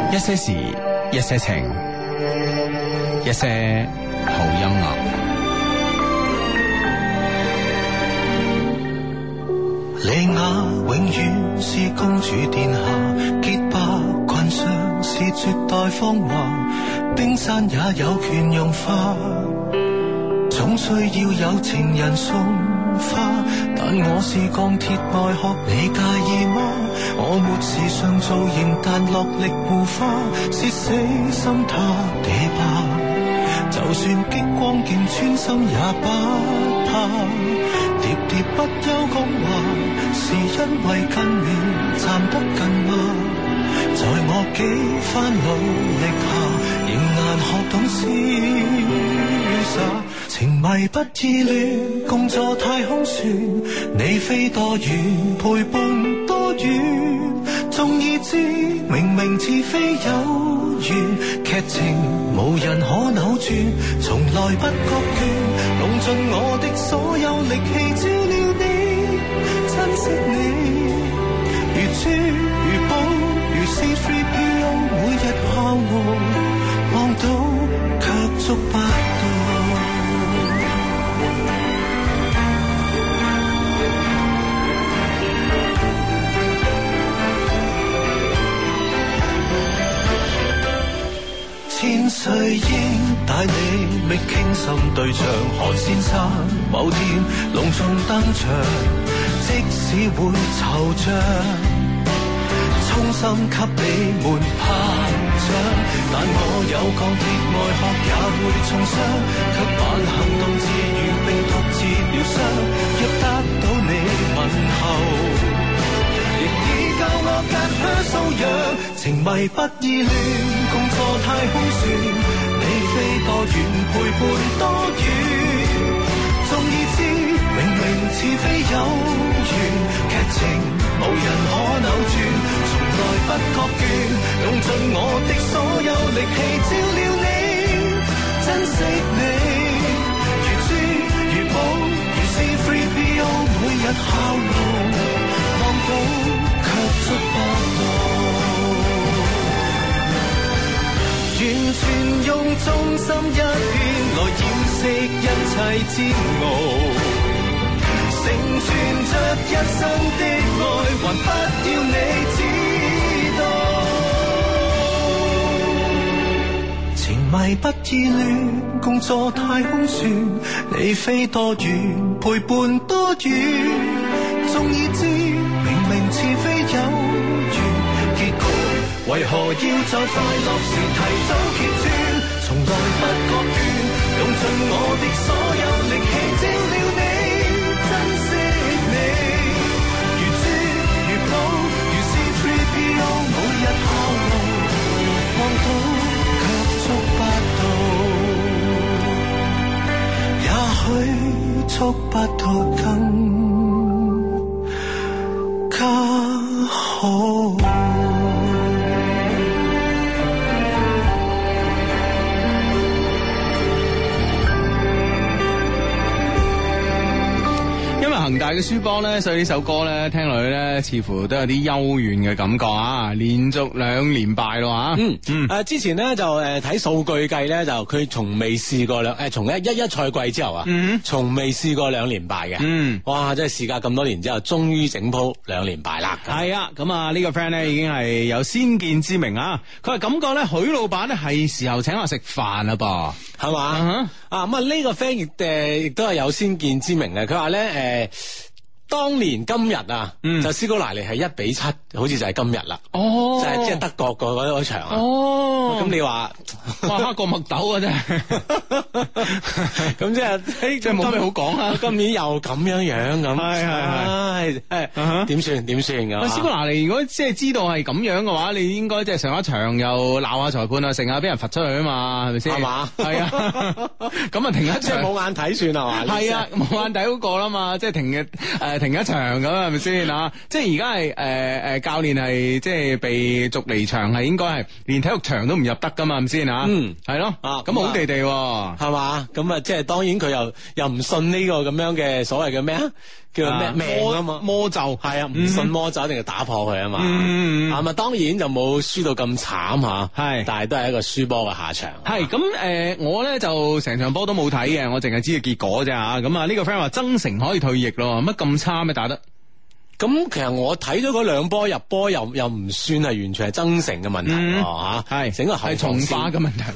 一些事，一些情，一些好音樂。 莉亞永遠是公主殿下，潔白裙上是絕代芳華，冰山也有權融化，總需要有情人送花。但我是鋼鐵外殼，你介意嗎？我沒時尚造型，但落力護花，是死心塌地吧。就算激光鏡穿心也不怕，喋喋不休講話，是因為跟你站得近嗎？在我幾番努力下，仍難學懂瀟灑。情迷不意亂，共坐太空船，你飛多遠，陪伴多遠，終已知明明似非有緣，劇情無人可扭轉，從來不覺倦，用盡我的所有力氣照料你，珍惜你，如珠如寶，如 C3PO 每日孝我，望到卻觸不到。千歲鷹帶你覓傾心對象，韓先生某天隆重登場，即使會惆悵，衷心給你們拍掌。但我有鋼鐵外殼也會重傷，卻扮行動自如並獨自療傷。若得到你問候，亦已教我隔靴搔癢。情迷不意亂，共坐太空船，你飛多遠，陪伴多遠，終已知明明似非有緣，劇情無人可扭轉，從來不覺倦，用盡我的所有力氣照料你，珍惜你，如珠如寶，如 C3PO 每日孝勞，望到卻觸不到，完全用忠心一片來掩飾一切煎熬，成全着一生的愛，還不要你知道。情迷不意亂，共坐太空船，你飛多遠，陪伴多遠，終已知明明似非有緣，結局為何要在快樂時提早揭穿？從來不覺倦，用盡我的所有力氣照料你，珍惜你，如珠如寶，如 C3PO 每日孝勞，望到卻觸不到，也許觸不到更加好。 恒大嘅輸波咧，所以呢首歌咧聽落去咧，似乎都有啲幽怨嘅感覺啊！連續2連敗咯吓， 之前咧就睇數據計咧，就佢從未試過從一賽季之後啊，從未試過2連敗嘅，哇！真係事隔咁多年之後，終於整鋪2連敗啦。 係啊，咁啊呢個 friend 咧已經係有先見之明啊！佢係感覺咧，許老闆咧係時候請我食飯啦噃， 係嘛？咁啊呢個 friend 亦都係有先見之明嘅，佢話咧當年今日啊，就斯高拿尼係1-7，好似就係今日啦。哦，就係即係德國嗰場啊。哦，咁你話哇黑過麥豆啊真係， 咁即係即係冇咩好講啊。 今年又咁樣咁，係點算㗎？ 斯高拿尼如果即係知道係咁樣嘅話，你應該即係上一場又鬧下裁判啊，成日俾人罰出去啊嘛，係咪先？係嘛？係啊，咁啊停一場， 即係冇眼睇算係嘛？ 係啊，冇眼睇嗰個啦嘛，即係停一場咁係咪先啊？即係而家係教練係即係被逐離場，係應該係連體育場都唔入得噶嘛，係咪先啊？係咯，咁好地地係嘛？ 咁啊，即係當然佢又唔信呢個咁樣嘅所謂嘅咩啊？ 叫做咩命啊嘛， 魔咒係啊，唔信魔咒一定要打破佢啊嘛。啊當然就冇輸到咁慘吓，係，但係都係一個輸波嘅下場。 係咁我咧就成場波都冇睇嘅，我淨係知個結果啫吓。咁啊呢個 friend 話曾誠可以退役咯，乜咁差咩打得？ 咁其實我睇咗嗰兩波入波又唔算係完全係增城嘅問題喎， 係整個後防線從化嘅問題，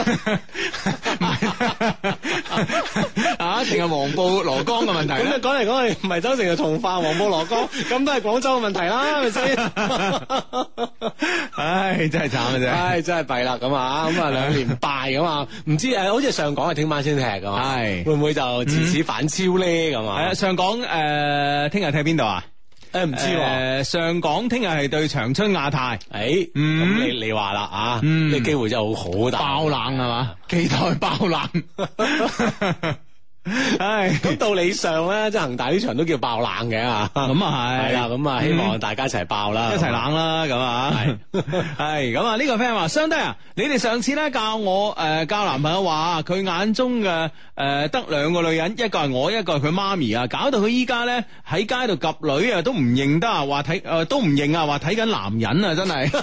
定係黃埔羅江嘅問題？咁你講嚟講去唔係增城就從化、黃埔羅江，咁都係廣州嘅問題啦，係咪先？ 唉，真係慘啊真係， 唉真係弊啦咁啊，咁啊2連敗咁啊，唔知好似上港係聽晚先踢噶嘛，係會唔會就自此反超咧咁啊？係啊， 上港聽日踢邊度啊？ 唔知喎， 上港聽日係對長春亞泰， 咁你話啦啊，呢機會真係好大， 爆冷係嘛？期待爆冷。唉， 咁道理上咧，即係恒大呢場都叫爆冷嘅啊， 咁啊係啦，咁啊希望大家一齊爆啦， 一齊冷啦，咁啊係咁啊呢個 friend 話，相弟啊，你哋上次咧教我教男朋友話佢眼中嘅得2個女人，一個係我，一個係佢媽咪啊，搞到佢依家咧喺街度及女啊都唔認得啊，話睇都唔認啊，話睇緊男人啊，真係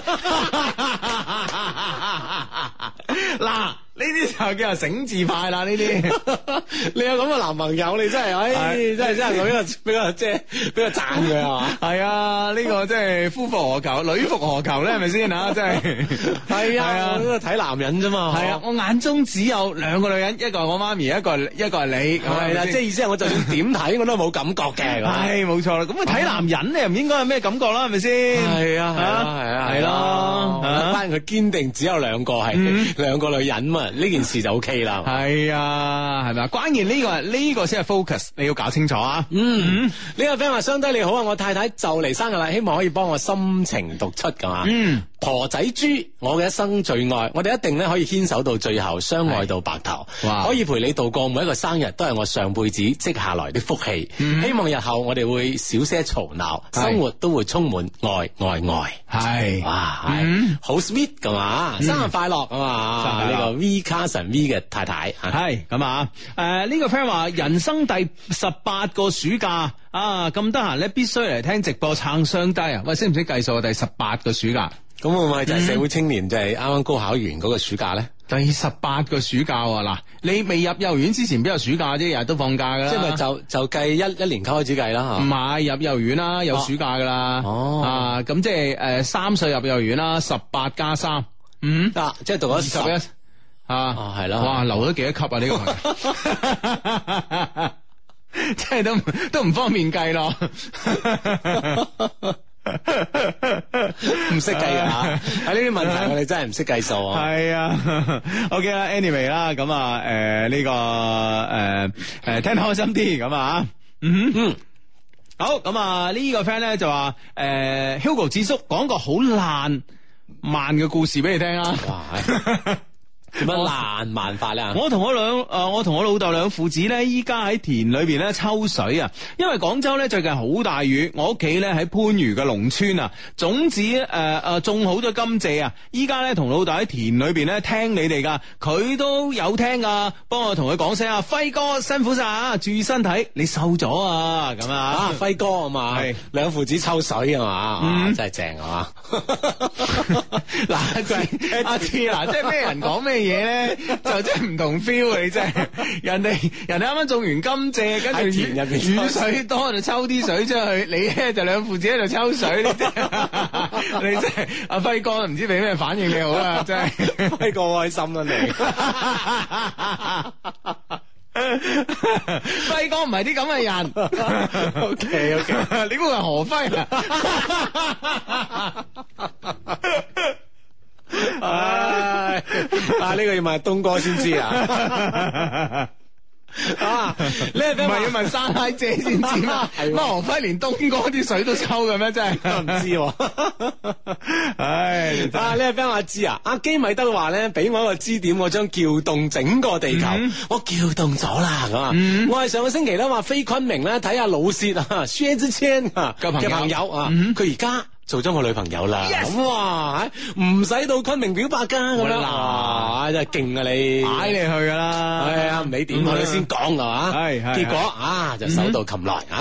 嗱。呢啲就叫做醒字派啦！呢啲你有咁嘅男朋友，你真係，真係我比較即係比較讚佢係嘛？ 係啊，呢個即係夫復何求，女復何求咧？係咪先啊？真係係啊，我睇男人啫嘛。 係啊，我眼中只有2個女人，一個係我媽咪，一個係你。係啦， 即係意思係我就算點睇我都冇感覺嘅。 係冇錯啦。咁啊睇男人你又唔應該有咩感覺啦？係咪先？係啊，係咯。 反正佢堅定只有2個係2個女人嘛。呢件事就 OK 啦， 係啊，係咪啊？關鍵呢個先係 focus， 你要搞清楚啊。 呢個 friend 話：相低你好啊，我太太就嚟生日啦，希望可以幫我心情讀出噶嘛。婆仔豬，我嘅一生最愛，我哋一定咧可以牽手到最後，相愛到白頭，可以陪你度過每一個生日，都係我上輩子積下來的福氣。希望日後我哋會少些嘈鬧，生活都會充滿愛。係哇，好 sweet 噶嘛，生日快樂啊嘛！呢個 V Carson V 嘅太太係咁啊。呢個 friend 話人生第18個暑假啊，咁得閒咧必須嚟聽直播撐雙低啊！喂，識唔識計數啊？第18個暑假。 咁會唔會就係社會青年就係啱啱高考完嗰個暑假咧？ 第18個暑假啊！嗱，你未入幼兒園之前邊有暑假啫？日日都放假噶啦。 即係咪就計一年級開始計啦吓？ 唔係入幼兒園啦，有暑假噶啦。咁即係3歲入幼兒園啦，18加3， 即係讀咗 21係啦。哇，留咗幾多級啊？呢個朋友，即係都唔方便計咯。 唔識計啊！喺呢啲問題我哋真係唔識計數啊！ 係啊 ，OK 啦 ，anyway 啦，咁啊，呢個聽得開心啲咁啊，好咁啊，呢個 friend 咧就話Hugo 智叔講個好爛漫嘅故事俾你聽啊！點樣爛漫法咧？我同我老豆兩父子咧，依家喺田裏邊咧抽水啊！因為廣州咧最近好大雨，我屋企咧喺番禺嘅農村啊，種子種好咗甘蔗啊！依家咧同老豆喺田裏邊咧聽你哋噶，佢都有聽啊！幫我同佢講聲啊，輝哥辛苦晒啊！注意身體，你瘦咗啊！咁啊， 輝哥啊嘛，係兩父子抽水啊嘛，真係正啊嘛！ 嗱，就係阿志嗱，即係咩人講咩嘢咧，就真係唔同 feel 啊！你真係人哋啱啱種完甘蔗，跟住田入邊雨水多就抽啲水出去，你咧就兩父子喺度抽水，你真係阿輝哥唔知俾咩反應你好啦，真係輝哥開心啦你， 輝哥唔係啲咁嘅人。 OK， 你估係何輝啊？ 呢個要問東哥先知啊！ 你係咪要問山奶姐先知嘛？乜何輝連東哥啲水都抽嘅咩？真係唔知喎。呢個 friend 話知啊，阿基米德話咧，俾我一個支點，我將撬動整個地球，我撬動咗啦。咁啊，我係上個星期咧話飛昆明咧睇下老薛啊，薛之謙嘅朋友啊，佢而家做咗我女朋友啦。哇，唔使到昆明表白噶咁樣，真係勁啊你， 擺你去噶啦。 係啊，唔理點佢先講係嘛。係，結果就手到擒來啊。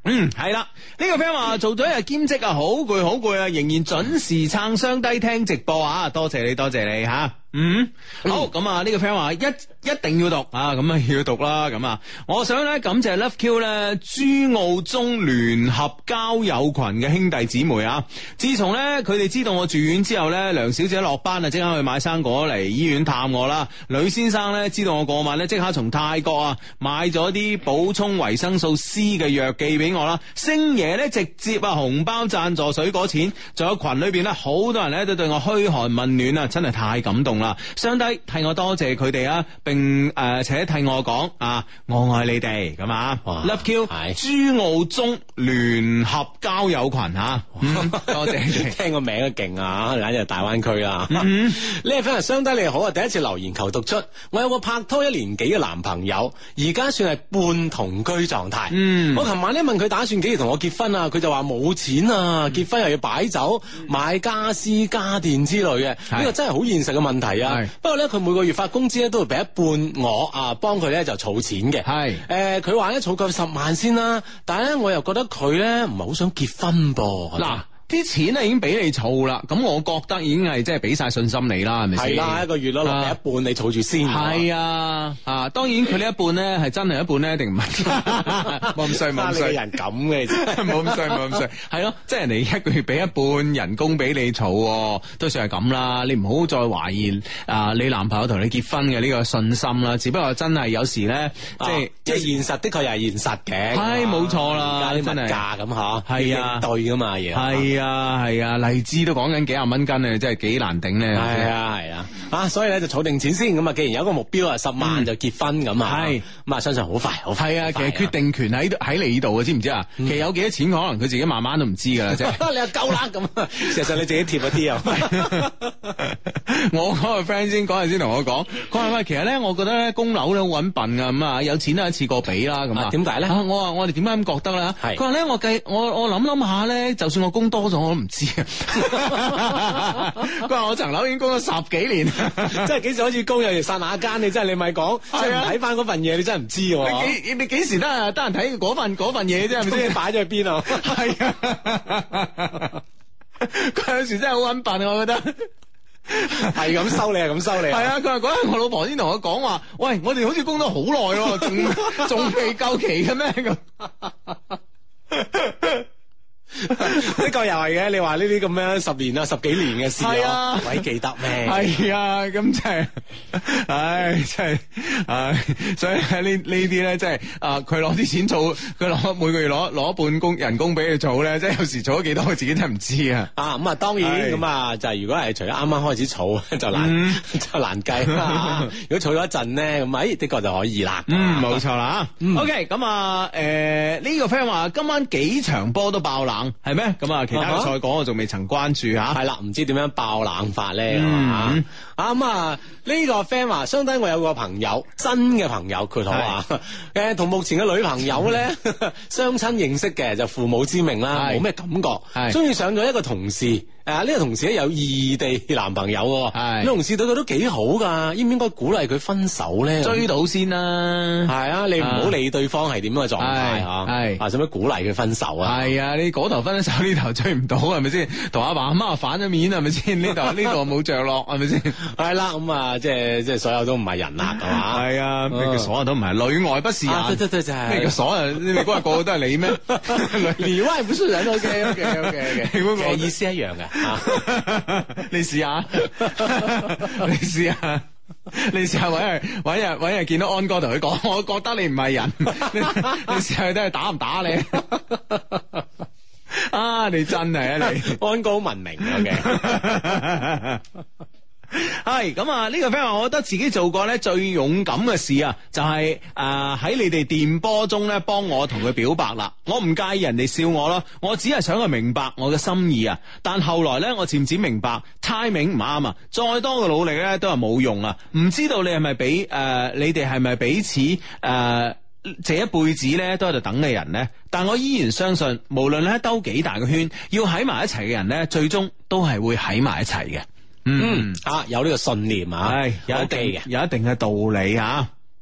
係啦，呢個 friend 話做咗一日兼職啊，好攰啊，仍然準時撐雙低聽直播啊，多謝你吓。好，咁啊呢個 friend 話一定要讀啊，咁啊要讀啦，咁啊，我想咧感謝 Love Q 咧珠澳中聯合交友群嘅兄弟姊妹啊，自從咧佢哋知道我住院之後咧，梁小姐落班啊即刻去買生果嚟醫院探我啦，呂先生咧知道我過敏咧，即刻從泰國啊買咗啲補充維生素 C 嘅藥寄俾我啦，星爺咧直接啊紅包贊助水果錢，仲有群裏邊咧好多人咧都對我噓寒問暖啊，真係太感動啦！雙低替我多謝佢哋啊，並且替我講啊，我愛你哋咁啊 ！Love Q 珠澳中聯合交友群吓，多謝你哋， 聽個名都勁啊，簡直係大灣區啦。呢個 friend 雙低你好啊，第一次留言求讀出，我有個拍拖1年幾嘅男朋友，而家算係半同居狀態。我琴晚咧問佢打算幾時同我結婚啊，佢就話冇錢啊，結婚又要擺酒、買家私家電之類嘅，呢個真係好現實嘅問題啊。不過咧，佢每個月發工資咧都會俾一半我啊，幫佢咧就儲錢嘅。佢話咧儲夠10萬先啦，但係咧我又覺得佢咧唔係好想結婚噃。嗱。 啲錢咧已經俾你儲啦，咁我覺得已經係即係俾晒信心你啦，係咪先？ 係啦，一個月攞落俾一半，你儲住先。 係啊，當然佢呢一半咧係真係一半咧，定唔係？冇咁衰，冇咁衰， 人咁嘅， 冇咁衰，冇咁衰。係咯，即係人哋一個月俾一半人工俾你儲，都算係咁啦。你唔好再懷疑你男朋友同你結婚嘅呢個信心啦。只不過真係有時咧， 即係現實的確又係現實嘅。 係冇錯啦， 而家啲物價咁嗬， 係啊， 對噶嘛嘢。 係啊，荔枝都講緊幾廿蚊斤啊，真係幾難頂咧。 係啊，所以咧就儲定錢先。咁啊，既然有一個目標啊，10萬就結婚咁啊，咁啊，相信好快。係啊，其實決定權喺你度啊，知唔知啊？其實有幾多錢，可能佢自己慢慢都唔知噶啦，即係。 你又夠啦咁，事實上你自己貼一啲啊。 我嗰個 friend 嗰陣先同我講，佢話喂，其實咧，我覺得咧供樓咧好搵笨啊，咁啊，有錢都一次過俾啦，咁啊。 點解咧？ 我話我哋點解咁覺得咧？佢話咧，我諗下咧，就算我供多咗，我都唔知啊！佢話我層樓已經供咗10幾年， 即係幾時開始供又剎那間，你真係你咪講，即係唔睇翻嗰份嘢，你真係唔知喎。 你幾時得閒睇嗰份嘢啫？係咪先？ 擺咗去邊啊？ 係啊！佢有時真係好搵笨，我覺得係咁收你，係咁收你。 係啊！佢話嗰日我老婆先同我講話，喂，我哋好似供咗好耐喎，仲未夠期嘅咩咁？ 呢個又係嘅，你話呢啲咁樣10年啊、10幾年嘅事啊，鬼記得咩？ 係啊，咁真係，真係，所以呢啲咧，即係佢攞啲錢儲，佢每個月攞一半人工俾佢儲咧，即係有時儲咗幾多，佢自己真係唔知啊。 咁啊，當然咁啊，就係如果係除咗啱啱開始儲就難計啦。如果儲咗一陣咧，咁的確就可以啦。 冇錯啦。OK，咁啊，呢個 friend 話今晚幾場波都爆冷。係咩？咁啊，其他嘅賽果我仲未曾關注吓。 係啦，唔知點樣爆冷法咧？呢個 friend 話，相當我有個朋友，新嘅朋友，佢同話，同目前嘅女朋友咧，相親認識嘅，就父母之命啦，冇咩感覺，中意上咗一個同事。呢個同事咧有異地男朋友，呢同事對佢都幾好噶，應唔應該鼓勵佢分手咧？ 追到先啦， 係啊，你唔好理對方係點樣嘅狀態吓，使乜鼓勵佢分手啊？ 係啊，你嗰頭分手呢頭追唔到係咪先？同阿爸阿媽反咗面係咪先？呢度冇着落係咪先？ 係啦，咁啊，即係所有都唔係人啦，係嘛？ 係啊，咩叫所有都唔係？裏外不是人， 對就係咩叫所有？你嗰日個個都係你咩？ 裏外不是人，OK，其實意思一樣嘅。 你試下，你試下搵日見到安哥同佢講，我覺得你唔係人，你試下睇下打唔打你？你真係啊你， 安哥好文明嘅。 係咁啊！呢個 friend 話，我覺得自己做過咧最勇敢嘅事啊，就係喺你哋電波中咧幫我同佢表白啦。我唔介意人哋笑我咯，我只係想佢明白我嘅心意啊。但後來咧，我漸漸明白 timing 唔啱啊，再多嘅努力咧都係冇用啊。唔知道你係咪你哋係咪彼此這一輩子咧都喺度等嘅人呢？但我依然相信，無論咧兜幾大個圈，要喺埋一齊嘅人咧，最終都係會喺埋一齊嘅。有呢個信念啊，有一定嘅道理啊。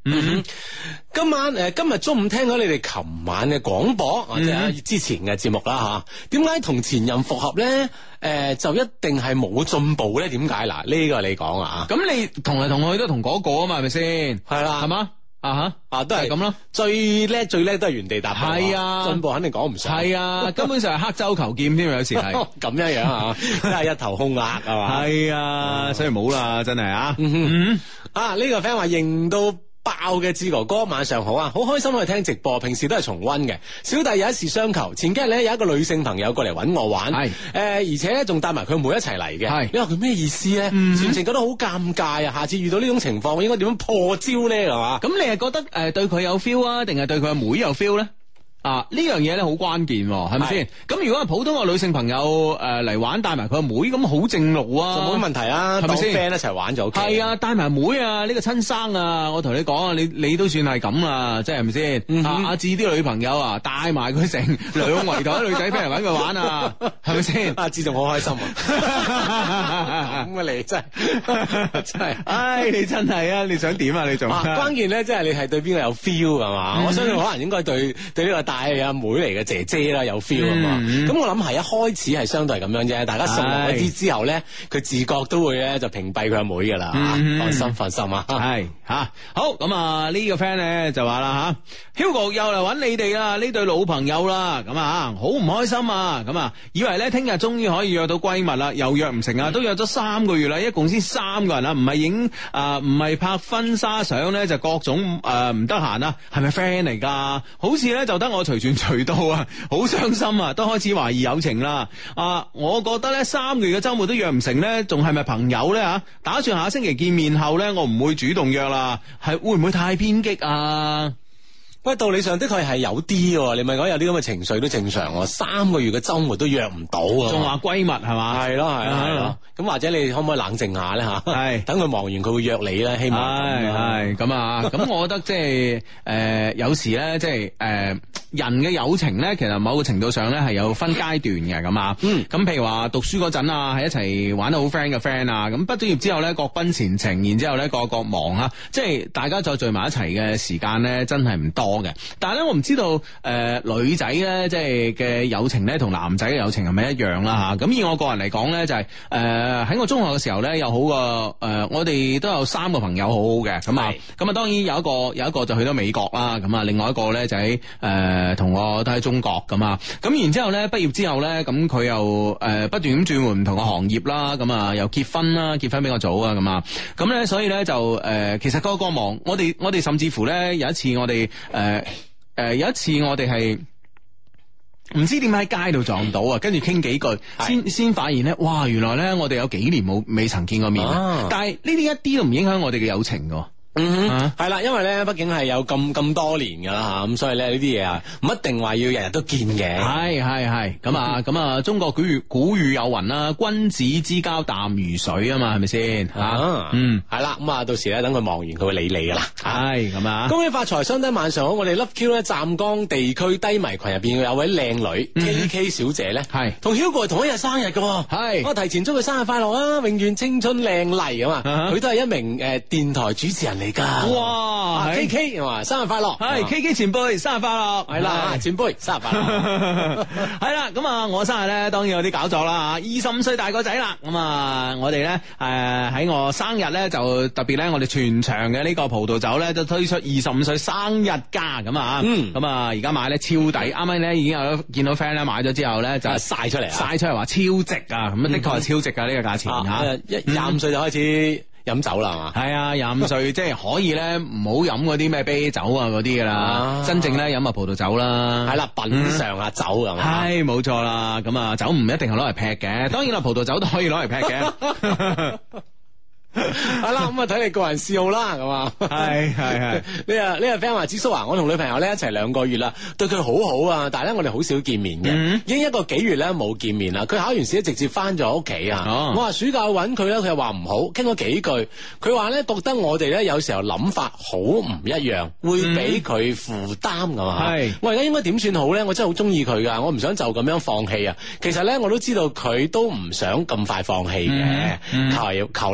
今日中午聽咗你哋琴晚嘅廣播，或者之前嘅節目啦吓，點解同前任復合咧？就一定係冇進步咧？點解嗱？呢個你講啊？ 咁你同嚟同去都同嗰個啊嘛，係咪先？ 係啦， 係嘛？都係咁咯。 最叻都係原地踏步。 係啊， 進步肯定講唔上。係啊，根本上係刻舟求劍添，有時係咁樣啊，真係一頭空額係嘛？ 係啊，所以冇啦，真係啊。 呢個 friend 話認到爆嘅志哥哥，晚上好啊！好開心去聽直播，平時都係重溫嘅。小弟有一事相求，前幾日咧有一個女性朋友過嚟揾我玩，而且咧仲帶埋佢妹一齊嚟嘅。你話佢咩意思咧？全程覺得好尷尬啊！下次遇到呢種情況，我應該點樣破招咧？係嘛？ 咁你係覺得對佢有 feel 啊，定係對佢阿妹有 feel 咧？呢樣嘢咧好關鍵，係咪先？咁如果係普通個女性朋友嚟玩，帶埋佢阿妹，咁好正路啊， 就冇乜問題啊，係咪先？當 friend 一齊玩就 OK。係啊，帶埋妹啊，呢個親生啊，我同你講啊，你都算係咁啊，即係咪先？阿志啲女朋友啊，帶埋佢成2圍台女仔飛嚟搵佢玩啊，係咪先？ 阿志仲好開心啊！咁啊，你真係， 唉，你真係啊！你想點啊？你仲關鍵咧，即係你係對邊個有 feel 係嘛？我相信可能應該對呢個帶阿妹嚟嘅姐姐啦，有 feel 啊嘛。咁我諗係一開始係相對係咁樣啫，大家熟落一啲之後咧，佢自覺都會咧就屏蔽佢阿妹噶啦。放心啊。 係好咁啊！呢個 friend 咧就話啦Hugo 又嚟揾你哋啦，呢對老朋友啦，咁啊好唔開心啊！咁啊以為咧聽日終於可以約到閨蜜啦，又約唔成啊，都約咗3個月啦，一共先3個人啊，唔係影唔係拍婚紗相咧，就各種唔得閒啊，係咪 friend 嚟噶？好似咧就得我隨傳隨到啊，好傷心啊，都開始懷疑友情啦。我覺得咧3個月嘅周末都約唔成咧，仲係咪朋友咧吓？打算下星期見面後咧，我唔會主動約啦，係會唔會太偏激啊？ 喂，道理上的確係有啲喎，你咪講有啲咁嘅情緒都正常喎。3個月嘅周末都約唔到啊， 仲話閨蜜係嘛？係咯。 咁或者你可唔可以冷靜下咧吓？ 係等佢忙完佢會約你咧，希望係咁啊。咁我覺得即係有時咧，即係人嘅友情咧，其實某個程度上咧係有分階段嘅咁啊。咁譬如話讀書嗰陣啊，係一齊玩得好 friend 嘅 friend 啊。咁畢咗業之後咧，各奔前程，然之後咧各忙啊，即係大家再聚埋一齊嘅時間咧，真係唔多嘅。但係咧，我唔知道女仔咧，即係嘅友情咧，同男仔嘅友情係咪一樣啦吓？咁以我個人嚟講咧，就係喺我中學嘅時候咧，有好個我哋都有3個朋友好好嘅。咁啊，當然有一個就去咗美國啦。咁啊，另外一個咧就喺同我都喺中國咁啊。咁然之後咧，畢業之後咧，咁佢又不斷咁轉換唔同嘅行業啦。咁啊，又結婚啦，結婚比較早啊。咁啊，咁咧所以咧就其實個忙，我哋甚至乎咧有一次我哋有一次我哋係唔知點解喺街度撞到啊，跟住傾幾句，先發現咧，哇！原來咧我哋有幾年未曾見過面，但係呢啲一啲都唔影響我哋嘅友情㗎。 係啦，因為咧，畢竟係有咁多年噶啦吓，咁所以咧呢啲嘢啊，唔一定話要日日都見嘅。係咁啊，中國古語有云啦，君子之交淡如水啊嘛，係咪先吓？係啦，咁啊，到時咧等佢忙完，佢會理你噶啦。係咁啊，恭喜發財，相低晚上好。我哋 Love Q 咧湛江地區低迷群入邊有位靚女 KK 小姐咧，係同 Hugo 同一日生日嘅，係我提前祝佢生日快樂啊，永遠青春靚麗啊嘛。佢都係一名電台主持人嚟噶。哇 ！KK 生日快樂，係 KK 前輩生日快樂，係啦，前輩生日快樂，係啦。咁啊，我生日咧當然有啲搞作啦，25歲大個仔啦。咁啊，我哋咧喺我生日咧就特別咧，我哋全場嘅呢個葡萄酒咧都推出25歲生日價咁啊。咁啊，而家買咧超抵，啱啱咧已經有見到 friend 咧買咗之後咧就晒出嚟話超值啊！咁的確係超值噶呢個價錢吓，25歲就開始飲酒啦嘛，係啊，25歲即係可以咧，唔好飲嗰啲咩啤酒啊嗰啲噶啦，真正咧飲下葡萄酒啦，係啦，品嘗下酒係嘛，係冇錯啦，咁啊酒唔一定係攞嚟劈嘅，當然啦，葡萄酒都可以攞嚟劈嘅。係啦，咁啊睇你個人嗜好啦，咁啊，係呢個 friend 話，子叔啊，我同女朋友咧一齊2個月啦，對佢好好啊，但係咧我哋好少見面嘅，已經1個幾月咧冇見面啦。佢考完試直接翻咗屋企啊，我話暑假去搵佢咧，佢又話唔好，傾咗幾句，佢話咧覺得我哋咧有時候諗法好唔一樣，會俾佢負擔噶嘛。係我而家應該點算好咧？我真係好中意佢噶，我唔想就咁樣放棄啊。其實咧我都知道佢都唔想咁快放棄嘅，求呢個解決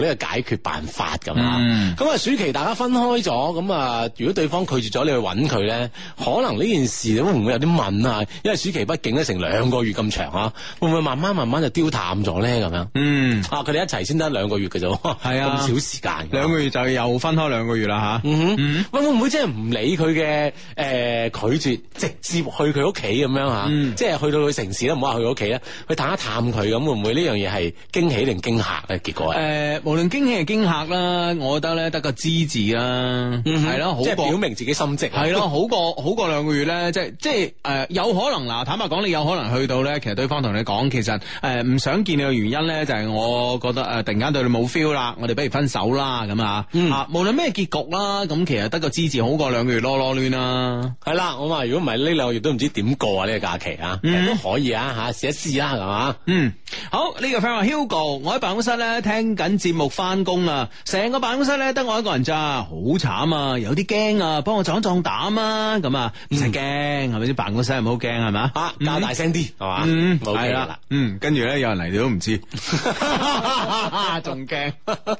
決辦法咁啊。咁啊，暑期大家分開咗，咁啊，如果對方拒絕咗你去揾佢咧，可能呢件事會唔會有啲問啊？因為暑期畢竟咧成2個月咁長啊，會唔會慢慢就丟淡咗咧？咁樣，佢哋一齊先得2個月嘅啫，係啊，咁少時間，2個月就又分開2個月啦吓。 喂，會唔會即係唔理佢嘅拒絕，直接去佢屋企咁樣吓？即係去到佢城市啦，唔好話去佢屋企啦，去探一探佢咁，會唔會呢樣嘢係驚喜定驚嚇嘅結果？ 無論驚喜定驚嚇啦，我覺得咧得個知字啦，係咯， 即係表明自己心跡， 係咯，好過2個月咧，即係有可能嗱，坦白講，你有可能去到咧，其實對方同你講，其實唔想見你嘅原因咧，就係我覺得突然間對你冇 feel 啦，我哋不如分手啦咁啊，無論咩結局啦，咁其實得個知字好過2個月囉囉攣啦， 係啦，我話如果唔係呢2個月都唔知點過啊呢個假期啊，都可以啊吓，試一試啦係嘛， 好呢個 friend 話 Hugo， 我喺辦公室咧聽緊節目翻工啊，成個辦公室咧得我一個人咋，好慘啊，有啲驚啊，幫我壯膽啊，咁啊唔使驚，係咪先？辦公室係唔好驚係嘛？ 較大聲啲係嘛？ 係啦，跟住咧有人嚟你都唔知，仲驚，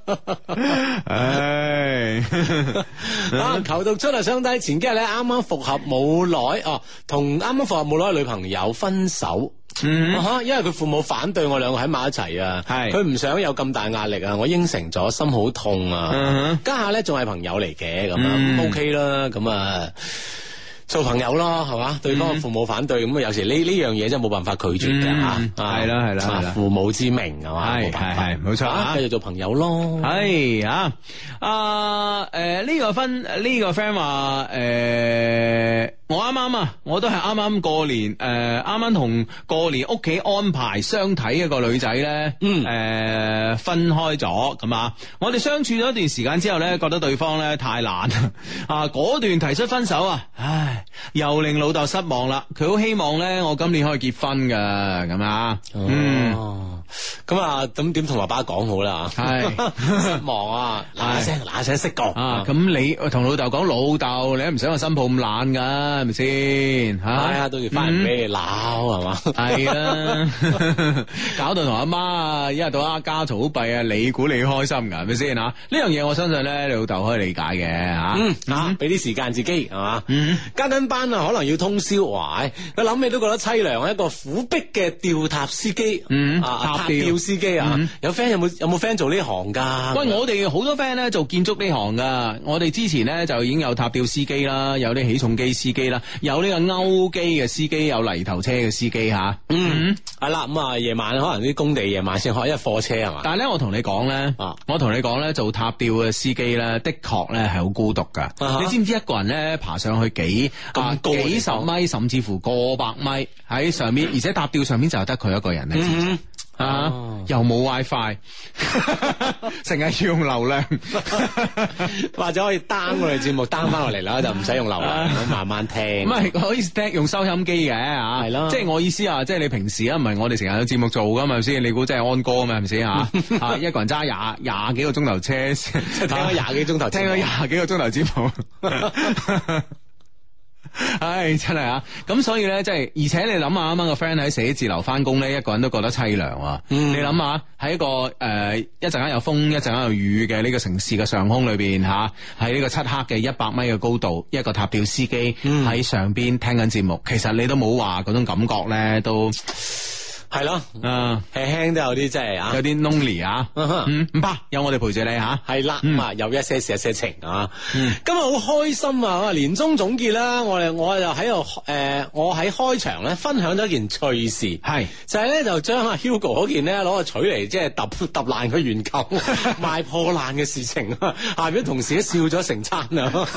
唉， 求讀出嚟相低，前幾日咧啱啱復合冇耐哦，同啱啱復合冇耐嘅女朋友分手。因為佢父母反對我2個喺埋一齊啊，佢唔想有咁大壓力啊，我應承咗，心好痛啊，家下咧仲係朋友嚟嘅，咁樣 OK 啦，咁啊做朋友咯，係嘛？對方嘅父母反對，咁有時呢樣嘢真係冇辦法拒絕嘅吓， 係啦， 父母之命係嘛， 係冇錯， 繼續做朋友咯。 係啊，呢個 friend 話我啱啱啊，我都係啱啱過年，啱啱同過年屋企安排相睇一個女仔咧，分開咗咁啊。我哋相處咗一段時間之後咧，覺得對方咧太懶啊，果斷提出分手啊，唉，又令老豆失望啦。佢好希望咧，我今年可以結婚噶，咁啊， 咁啊，咁點同爸爸講好啦？係失望啊，嗱聲識講啊。咁你同老豆講，老豆你都唔想個新抱咁懶噶，係咪先？係啊，到時翻嚟俾你鬧係嘛？ 係啊，搞到同阿媽一日到黑家嘈好弊啊！你估你開心噶係咪先吓？呢樣嘢我相信咧，你老豆可以理解嘅吓。 俾啲時間自己係嘛？加緊班啊，可能要通宵，哇！佢諗起都覺得凄涼，一個苦逼嘅吊塔司機，塔吊司機啊，有 friend 有冇 friend 做呢行噶？ 喂，我哋好多 friend 咧做建築呢行噶，我哋之前咧就已經有塔吊司機啦，有啲起重機司機啦，有呢個勾機嘅司機，有泥頭車嘅司機吓。 係啦，咁啊夜晚可能啲工地夜晚先開，因為貨車係嘛。 但係咧，我同你講咧，做塔吊嘅司機咧，的確咧係好孤獨噶。你知唔知一個人咧爬上去幾十米，甚至乎過百米喺上面，而且塔吊上面就係得佢一個人咧。又冇 WiFi， 成日要用流量， 或者可以 down 我哋節目 down 翻落嚟啦，就唔使用流量，慢慢聽。 唔係可以聽用收音機嘅吓，係咯，即係我意思啊，即係你平時啊，唔係我哋成日有節目做噶嘛，係咪先？你估真係安歌啊嘛，係咪先吓？一個人揸廿幾個鐘頭車， 聽咗廿幾鐘頭， 聽咗廿幾個鐘頭節目。唉，真係啊！咁所以咧，即係而且你諗下，啱啱個 friend 喺寫字樓翻工咧，一個人都覺得凄涼啊！你諗下喺一個一陣間有風，一陣間有雨嘅呢個城市嘅上空裏邊吓，喺呢個漆黑嘅100米嘅高度，一個塔吊司機喺上邊聽緊節目，其實你都冇話嗰種感覺咧，都。 係咯，輕輕都有啲即係有啲 lonely 啊，唔怕，有我哋陪住你吓， 係啦，有一些事一些情啊，今日好開心啊！年終總結啦，我就喺度我喺開場咧分享咗一件趣事，係就係咧就將阿 Hugo 嗰件咧攞個錘嚟即係揼爛佢原舊賣破爛嘅事情，下邊同事都笑咗成餐啊！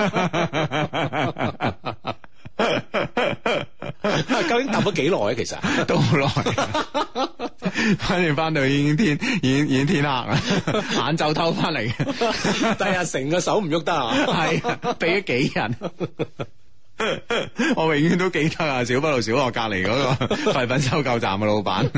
究竟揼咗幾耐？其實都好耐，反正翻到已經天黑啦，晏晝偷翻嚟嘅， 第日成個手唔喐得啊！ 係俾咗幾人，我永遠都記得啊！小北路小學隔籬嗰個廢品收購站嘅老闆，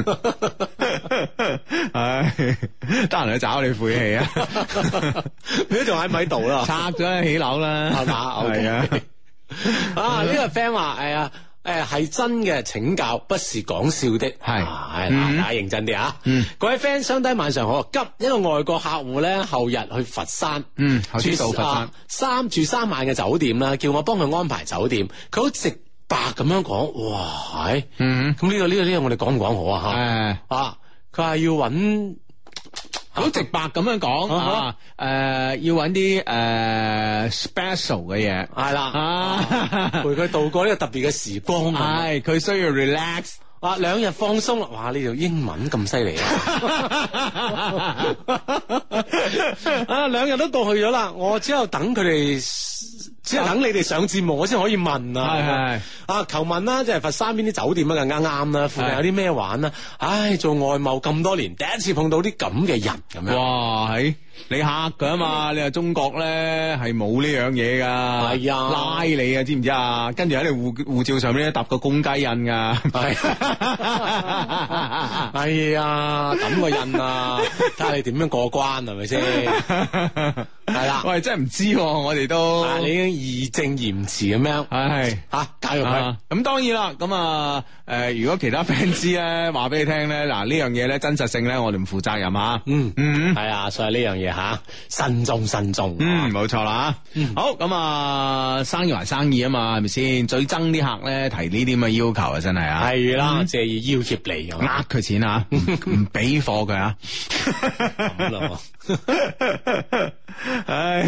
唉，得閒去找你晦氣啊！ 你都仲喺咪度啦？ 拆咗起樓啦， 係嘛？係啊！呢個 friend 話係真嘅請教，不是講笑的。係嗱，大家認真啲啊！各位 friend，相低晚上好，急一個外國客戶咧，後日去佛山， 住到佛山住3晚嘅酒店啦，叫我幫佢安排酒店，佢好直白咁樣講，哇，係，咁呢個我哋講唔講好啊？吓，佢話要揾。 好直白咁樣講啊！要揾啲special 嘅嘢，係啦，陪佢度過呢個特別嘅時光。 係佢需要 relax， 2日放鬆啦！哇，呢條英文咁犀利啊！2日都過去咗啦，我只有等佢哋。只係等你哋上節目，我先可以問啊！係求問啦，即係佛山邊啲酒店啊，更加啱啦。附近有啲咩玩啊？唉，做外貿咁多年，第一次碰到啲咁嘅人咁樣。哇！係你嚇佢啊嘛！你話中國咧係冇呢樣嘢噶，係啊，拉你啊，知唔知啊？跟住喺你護照上面咧揼個公雞印噶，係係啊，揼個印啊，睇下你點樣過關係咪先？係啦，喂，真係唔知，我哋都你已經義正言辭咁樣，係教育佢。咁當然啦，咁如果其他 fans 咧話俾你聽咧，嗱呢樣嘢咧真實性咧，我哋唔負責任吓。係啊，所以呢樣嘢吓，慎重。冇錯啦。好，咁生意還生意啊嘛，係咪先？最憎啲客咧提呢啲咁嘅要求啊，真係啊。係啦，借意要挾你，呃佢錢啊，唔俾貨佢啊。咁咯。唉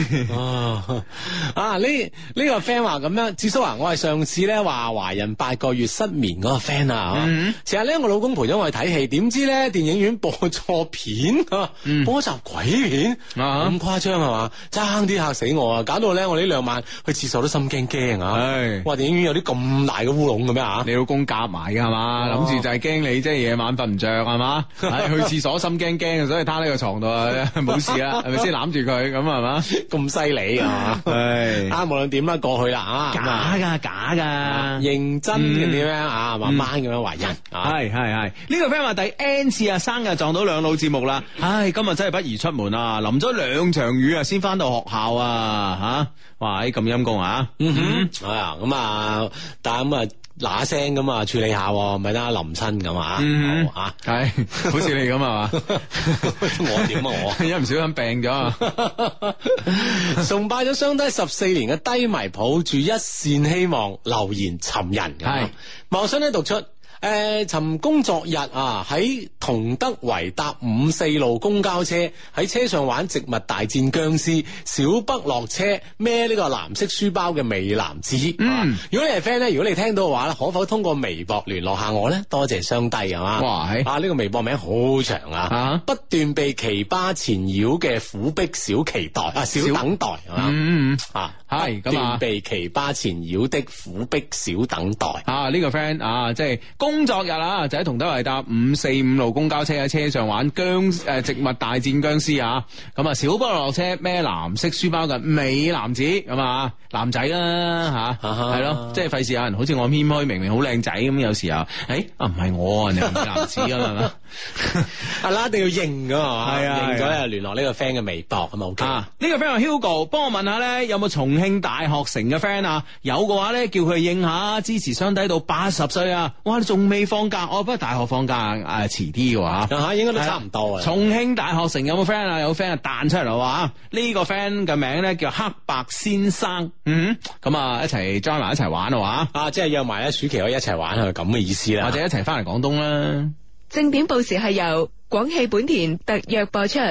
呢個 friend 話咁樣，智叔啊，我係上次咧話懷孕8個月失眠嗰個 friend 啊，成日咧我老公陪咗我去睇戲，點知咧電影院播錯片，播集鬼片，咁誇張係嘛？爭啲嚇死我啊！搞到咧我呢2晚去廁所都心驚啊！哇，電影院有啲咁大嘅烏龍嘅咩啊？你老公夾埋㗎係嘛？諗住就係驚你即係夜晚瞓唔着係嘛？去廁所心驚，所以攤喺個床度啊，冇事啦，係咪先攬住佢咁係嘛？咁犀利啊！無論點啦，過去啦假噶，認真嘅點樣啊？慢慢咁樣懷孕，係呢個 friend 話第 N 次啊生日撞到兩老節目啦，唉，今日真係不宜出門啊，淋咗2場雨啊，先翻到學校啊，吓，哇，咁陰功啊，係啊，咁啊，但係咁啊。嗱聲咁啊，處理下，咪得淋親咁啊，係，好似你咁啊嘛，我點啊我，一唔小心病咗，崇拜咗相低14年嘅低迷，抱住一線希望留言尋人，係，茂信咧讀出。尋工作日啊，喺同德圍搭54路公交車，喺車上玩植物大戰僵屍，小北落車孭呢個藍色書包嘅美男子。如果你係 friend 咧，如果你聽到嘅話咧，可否通過微博聯絡下我咧？多謝雙低係嘛。哇，呢個微博名好長啊，不斷被奇葩纏繞嘅苦逼小期待啊，小等待係嘛。係咁啊，被奇葩纏繞的苦逼小等待啊，呢個 friend 啊，即係工作日啊，就喺同德圍搭545路公交車，喺車上玩植物大戰僵屍啊，咁啊小北落車孭藍色書包嘅美男子咁啊，男仔啦吓，係咯，即係費事有人好似我謙虛，明明好靚仔咁，有時候唔係我啊，你係美男子啊嘛，係啦，一定要認噶係啊，認咗聯絡呢個 friend 嘅微博咁啊 OK。呢個 friend 話 Hugo， 幫我問下咧，有冇重慶大學城嘅 friend 啊？有嘅話咧，叫佢應下，支持雙低到80歲啊！哇，你仲未放假？不過大學放假遲啲嘅話，吓應該都差唔多啊。重慶大學城有冇 friend 啊？有 friend 彈出嚟啦話，呢個 friend 嘅名咧叫黑白先生，咁啊一齊 join 埋一齊玩啊話，即係約埋咧暑期可以一齊玩係咁嘅意思啦，或者一齊翻嚟廣東啦。 正點報時係由廣汽本田特約播出。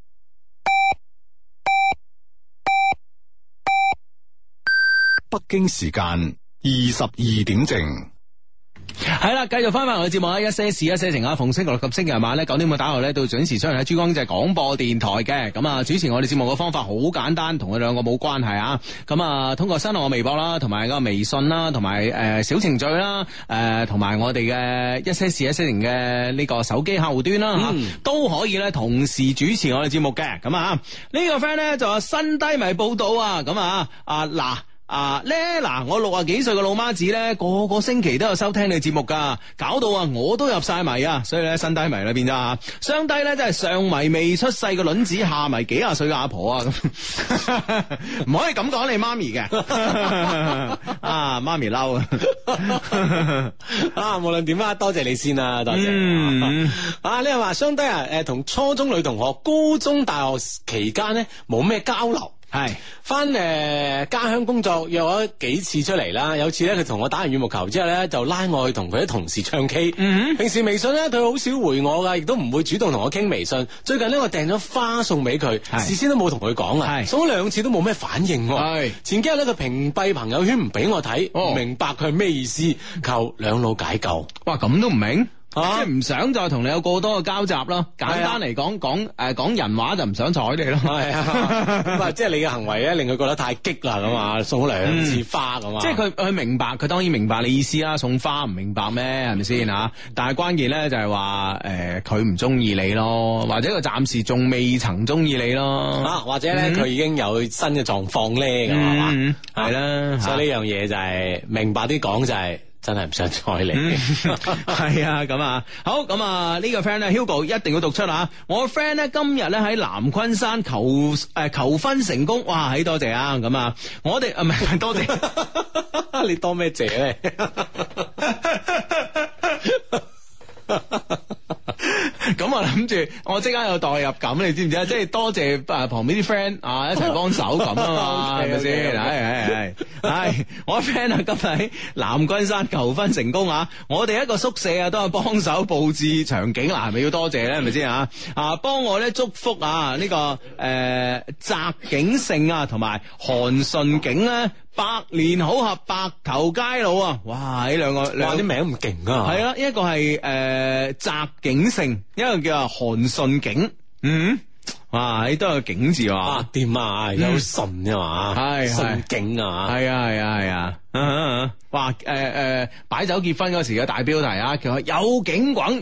北京時間22點正。 係啦，繼續翻返我嘅節目啦，一些事一些情啊，逢星期六及星期日晚咧9點半打後咧，到準時出現喺珠江經濟廣播電台嘅。咁啊，主持我哋節目嘅方法好簡單，同佢兩個冇關係啊。咁啊，通過新浪微博啦，同埋個微信啦，同埋小程序啦，同埋我哋嘅一些事一些情嘅呢個手機客戶端啦，都可以咧同時主持我哋節目嘅。咁啊，呢個 friend 咧就話新低迷報道啊，咁啊嗱。 咧嗱，我60幾歲嘅老媽子咧，個星期都有收聽你節目噶，搞到我都入晒迷啊，所以咧新低迷啦變咗啊，雙低咧真係上迷未出世嘅卵子，下迷幾廿歲嘅阿婆啊，咁唔可以咁講你媽咪嘅，啊媽咪嬲啊，無論點啊，多謝你先啦，多謝。啊，你話雙低啊，同初中女同學，高中大學期間咧冇咩交流。 係翻家鄉工作約咗幾次出嚟啦，有次咧佢同我打完羽毛球之後咧就拉我去同佢啲同事唱 K。平時微信咧佢好少回我噶，亦都唔會主動同我傾微信。最近呢，我訂咗花送俾佢，事先都冇同佢講啊，送咗2次都冇咩反應。前幾日咧佢屏蔽朋友圈唔俾我睇，唔明白佢係咩意思，求兩老解救。 哇，咁都唔明？即係唔想再同你有過多嘅交集咯，簡單嚟講講人話就唔想睬你咯。係啊， 咁即係你嘅行為咧令佢覺得太激啦咁啊，送咗2次花咁啊。 即係佢明白，佢當然明白你意思啦。送花唔明白咩？係咪先啊？但係關鍵咧就係話佢唔中意你咯，或者佢暫時仲未曾中意你咯。 或者咧佢已經有新嘅狀況咧咁係嘛？ 係啦， 所以呢樣嘢就係明白啲講就係。真係唔想睬你， 係啊咁啊，好咁啊呢個 friend 咧 Hugo 一定要讀出啊！我 friend 咧今日咧喺南昆山求婚成功，哇！多謝啊咁啊，我哋唔係多謝， 你多咩謝咧？ 咁我諗住，我即刻有代入感，你知唔知啊？即係多謝旁邊啲 friend 啊，一齊幫手咁啊嘛，係咪先？係，我 friend 啊，今日喺南昆山求婚成功啊！我哋一個宿舍啊，都係幫手佈置場景啦，係咪要多謝咧？係咪先啊？幫我咧祝福啊呢個澤景勝啊，同埋韓順景咧。百年好合，白頭偕老啊！哇，呢兩個啲名唔勁啊！ 係啦，一個係澤景勝，一個叫韓順景。哇，呢都有個景字啊！ 掂啊，有順嘅嘛，係順景啊， 係啊！哇！擺酒結婚嗰時嘅大標題啊，叫有景滾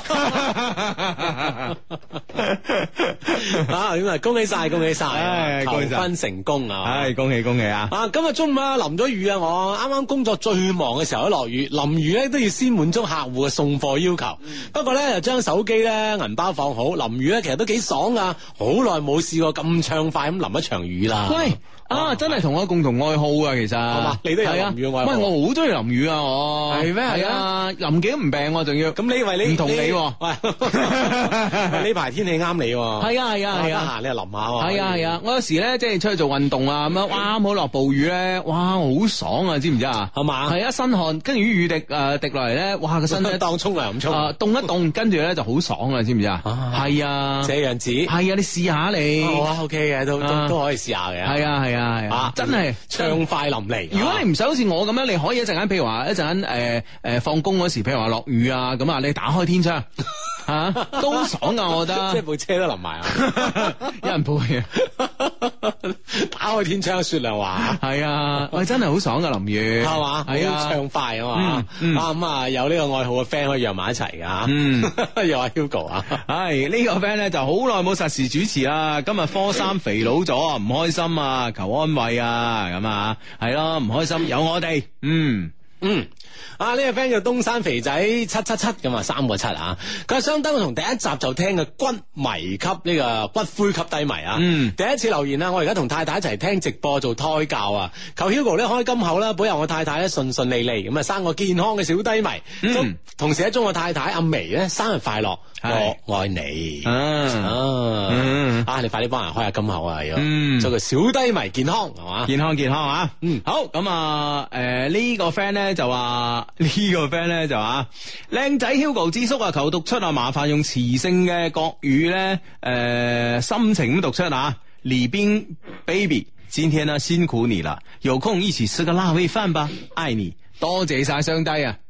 咁啊！恭喜晒，恭喜晒！求婚成功啊！ 恭喜啊！ 今日中午啊，淋咗雨啊！我啱啱工作最忙嘅時候都落雨，淋雨咧都要先滿足客戶嘅送貨要求。不過咧就將手機咧銀包放好，淋雨咧其實都幾爽噶，好耐冇試過咁暢快咁淋一場雨啦。 喂！真係同我共同愛好啊，其實係嘛？ 你都有淋雨愛好？ 喂，我好中意淋雨啊！我係咩？ 係啊，淋幾都唔病，仲要。 咁你以為你唔同你？喂， 呢排天氣啱你。 係啊， 得閒你就淋下。 係啊，我有時咧即係出去做運動啊，咁樣哇，啱好落暴雨咧，哇，好爽啊，知唔知啊？ 係嘛？ 係啊，身汗，跟住雨滴滴落嚟咧，哇，個身咧當沖涼咁沖， 凍一凍，跟住咧就好爽啊，知唔知啊？係啊， 這樣子。係啊，你試下你。 好 OK 嘅，都可以試下嘅。 係啊，真係暢快淋漓。 如果你唔想好似我咁樣，你可以一陣間，譬如話一陣間放工嗰時，譬如話落雨啊，咁啊，你打開天窗都爽噶，我覺得。 即係部車都淋埋啊！ 有人陪啊！ 打開天窗，雪亮華。係啊，喂，真係好爽噶淋雨， 係嘛？係啊，暢快啊嘛。咁啊，有呢個愛好嘅 friend 可以約埋一齊噶。又話 Hugo 啊， 係呢個 friend 咧就好耐冇實時主持啦。今日科3肥佬咗，唔開心啊，求安慰啊，咁啊，係咯，唔開心有我哋。 呢個 friend 叫東山肥仔777咁啊，3個7啊！佢係相當從第一集就聽嘅骨迷級呢個骨灰級低迷啊！第一次留言啊，我而家同太太一齊聽直播做胎教啊！求 Hugo 咧開金口啦，保佑我太太咧順順利利咁啊，生個健康嘅小低迷。同時咧祝我太太阿眉咧生日快樂，我愛你。你快啲幫人開下金口啊！要做個小低迷健康係嘛？ 健康啊！好咁啊！呢個 friend 咧就話。呢個 friend 咧就話靚仔 Hugo 之叔啊，求讀出啊，麻煩用磁性嘅國語咧，心情咁讀出啊。李冰 baby， 今天呢辛苦你啦，有空一起吃個辣味飯吧，愛你，多謝晒雙低啊。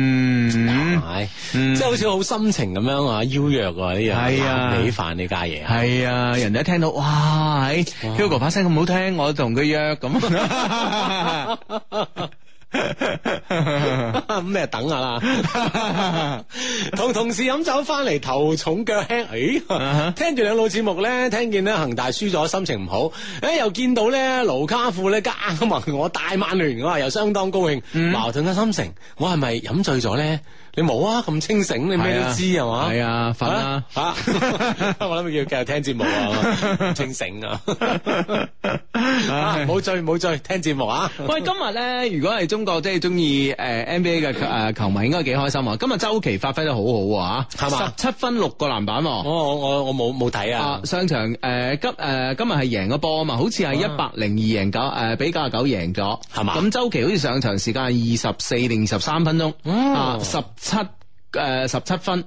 即係好似好心情咁樣啊，邀約呢樣辣味飯呢家嘢。 係啊，人哋一聽到哇，Hugo 把聲咁好聽，我同佢約咁。 咁咩等下啦。同同事飲酒翻嚟頭重腳輕，聽住兩路節目咧，聽見咧恒大輸咗，心情唔好。又見到咧盧卡庫咧加盟我大曼聯，我話又相當高興。矛盾嘅心情，我係咪飲醉咗咧？你冇啊，咁清醒，你咩都知係嘛？ 係啊，瞓啦吓！我諗佢要繼續聽節目啊，清醒啊！冇醉冇醉，聽節目啊！ 喂，今日咧，如果係中國即係中意NBA 嘅球迷，應該幾開心啊！今日周琦發揮得好好啊，係嘛？17分6個籃板。 我冇睇啊！ 上場今日係贏個波啊嘛，好似係102贏9比99贏咗，係嘛？咁周琦好似上場時間係24定23分鐘，17分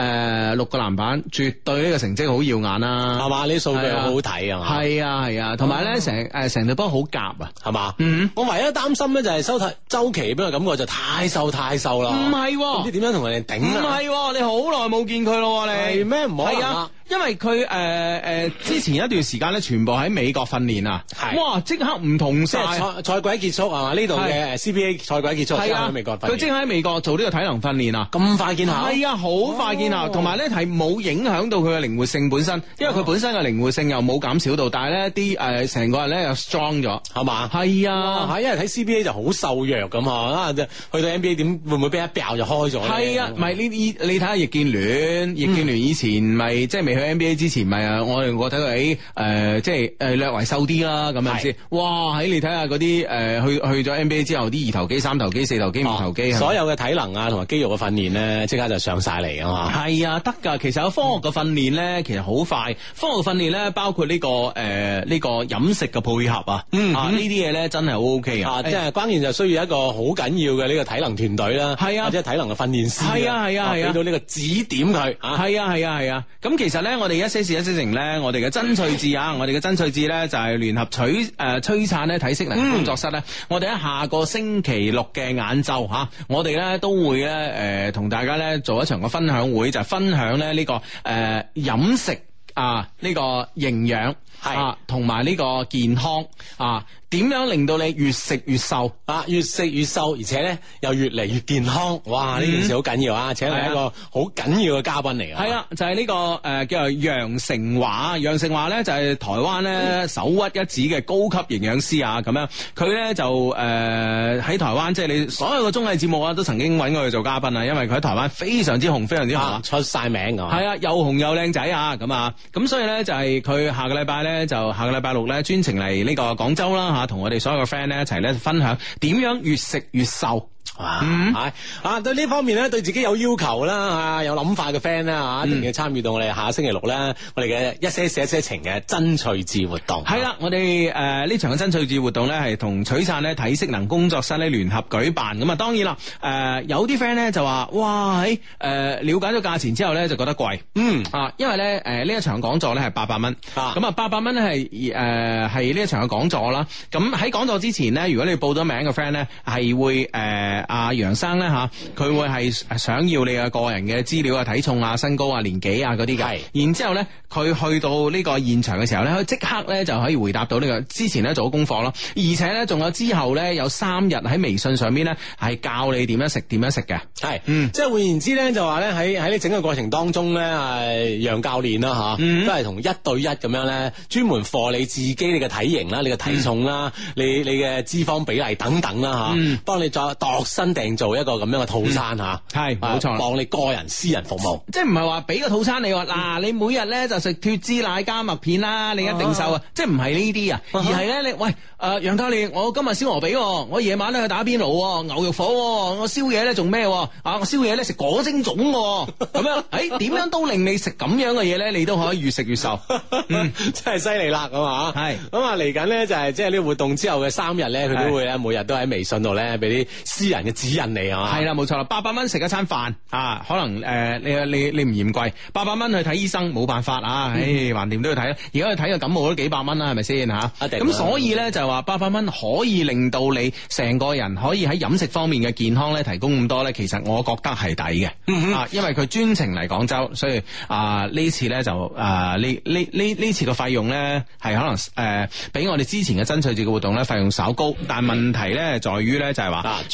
6個籃板，絕對呢個成績好耀眼啦， 係嘛？呢啲數據好好睇啊嘛， 係啊，同埋咧成隊波好夾啊，係嘛？ 我唯一擔心咧就係周琦俾我感覺就太瘦啦， 唔係， 唔知點樣同人哋頂啊？ 唔係，你好耐冇見佢咯，你係咩？唔好啊！因為佢之前一段時間咧，全部喺美國訓練啊，哇！即刻唔同晒， 賽季結束係嘛？呢度嘅 CBA 賽季結束，係啊，喺美國訓練， 佢即刻喺美國做呢個體能訓練啊， 咁快見效？ 係啊，好快見效，同埋咧係冇影響到佢嘅靈活性本身，因為佢本身嘅靈活性又冇減少到，但係咧啲成個人咧又 strong 咗，係嘛？係啊， 因為睇 CBA 就好瘦弱咁啊，去到 NBA 點會唔會俾一爆就開咗？ 係啊，唔係你睇下易建聯以前咪即係未去 NBA 之前咪我睇佢即係略為瘦啲啦，咁樣先。哇！你睇下嗰啲去咗 NBA 之後啲2頭肌、3頭肌、4頭肌、5頭肌， 所有嘅體能啊同埋肌肉嘅訓練咧，即刻就上晒嚟啊嘛。 係啊，得㗎。其實有科學嘅訓練咧，其實好快。科學訓練咧，包括呢個飲食嘅配合啊，呢啲嘢咧真係好 OK 啊。 即係關鍵就需要一個好緊要嘅呢個體能團隊啦， 係啊， 或者體能嘅訓練師， 係啊， 俾到呢個指點佢。 係啊。咁其實咧，我哋一些事一些情咧，我哋嘅真趣志啊，我哋嘅真趣志咧就係聯合璀璨咧體適能工作室咧，我哋喺下個星期六嘅晏晝吓，我哋咧都會咧同大家咧做一場嘅分享會，就係分享咧呢個飲食啊，呢個營養係同埋呢個健康啊。點樣令到你越食越瘦啊？越食越瘦，而且咧又越嚟越健康。哇！呢件事好緊要啊！請嚟一個好緊要嘅嘉賓嚟嘅。係啊，就係呢個叫做楊成華。楊成華咧就係台灣咧首屈一指嘅高級營養師啊。咁樣佢咧就喺台灣，即係你所有嘅綜藝節目啊，都曾經揾過佢做嘉賓啊。因為佢喺台灣非常之紅，非常之紅， 出晒名㗎。係啊，又紅又靚仔啊！咁所以咧就係佢下個禮拜六咧專程嚟呢個廣州啦。同我哋所有嘅 friend 咧一齊咧分享點樣越食越瘦。對呢方面咧對自己有要求啦，有諗法嘅 friend 啦，一定要參與到我哋下星期六咧，我哋嘅一些事一些情嘅真趣志活動。係啦，我哋呢場嘅真趣志活動咧係同璀璨咧體適能工作室咧聯合舉辦。咁啊，當然啦，有啲 friend 咧就話，哇，了解咗價錢之後咧就覺得貴。因為咧呢一場講座咧係800蚊。咁啊800蚊咧係呢一場嘅講座啦。咁喺講座之前咧，如果你報咗名嘅 friend 咧係會阿楊生咧佢會係想要你嘅個人嘅資料啊、體重啊、身高啊、年紀啊嗰啲嘅。然之後咧，佢去到呢個現場嘅時候咧，佢即刻咧就可以回答到呢個之前咧做咗功課咯。而且咧，仲有之後咧有3日喺微信上邊咧係教你點樣食嘅。係，即係換言之咧，就話咧喺呢整個過程當中咧，楊教練啦都係同1對1咁樣咧，專門課你自己你嘅體型啦、你嘅體重啦、你嘅脂肪比例等等啦幫你再度身訂做一個咁樣嘅套餐係冇錯，幫你個人私人服務，即係唔係話俾個套餐你話嗱，你每日咧就食脫脂奶加麥片啦，你一定瘦啊！即係唔係呢啲啊，而係咧你喂楊教練，我今日燒鵝髀，我夜晚咧去打邊爐，牛肉火，我宵夜咧仲咩我宵夜咧食果蒸粽咁樣，點樣都令你食咁樣嘅嘢咧，你都可以越食越瘦，真係犀利啦咁啊！係咁啊，嚟緊咧就係即係呢個活動之後嘅3日咧，佢都會咧每日都喺微信度咧俾啲私人嘅指引你啊，係啦，冇錯啦，800蚊食一餐飯可能你唔嫌貴，800蚊去睇醫生冇辦法橫掂都要睇啦。而家去睇個感冒都幾百蚊啦，係咪先咁所以咧就話800蚊可以令到你成個人可以喺飲食方面嘅健康咧提供咁多咧，其實我覺得係抵嘅。因為佢專程嚟廣州，所以呢次咧就呢次嘅費用咧係可能比我哋之前嘅真趣節嘅活動咧費用稍高，但問題咧在於咧就係話絕對係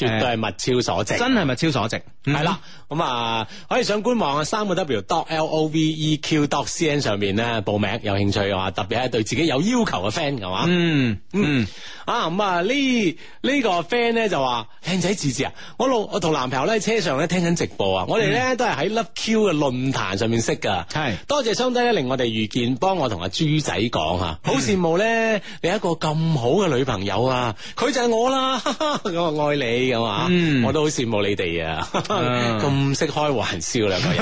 物超所值， 真係物超所值。 係啦，咁啊可以上官網啊3w.loveq.cn 上面咧報名，有興趣嘅話，特別係對自己有要求嘅 friend 係嘛。咁啊呢個 friend 咧就話靚仔志志啊，我同男朋友咧喺車上咧聽緊直播啊，我哋咧都係喺 Love Q 嘅論壇上面識噶，係多謝雙低咧令我哋遇見，幫我同阿豬仔講吓，好羨慕咧你一個咁好嘅女朋友啊，佢就係我啦，咁我愛你咁啊，我都好羨慕你哋啊，咁識開玩笑兩個人，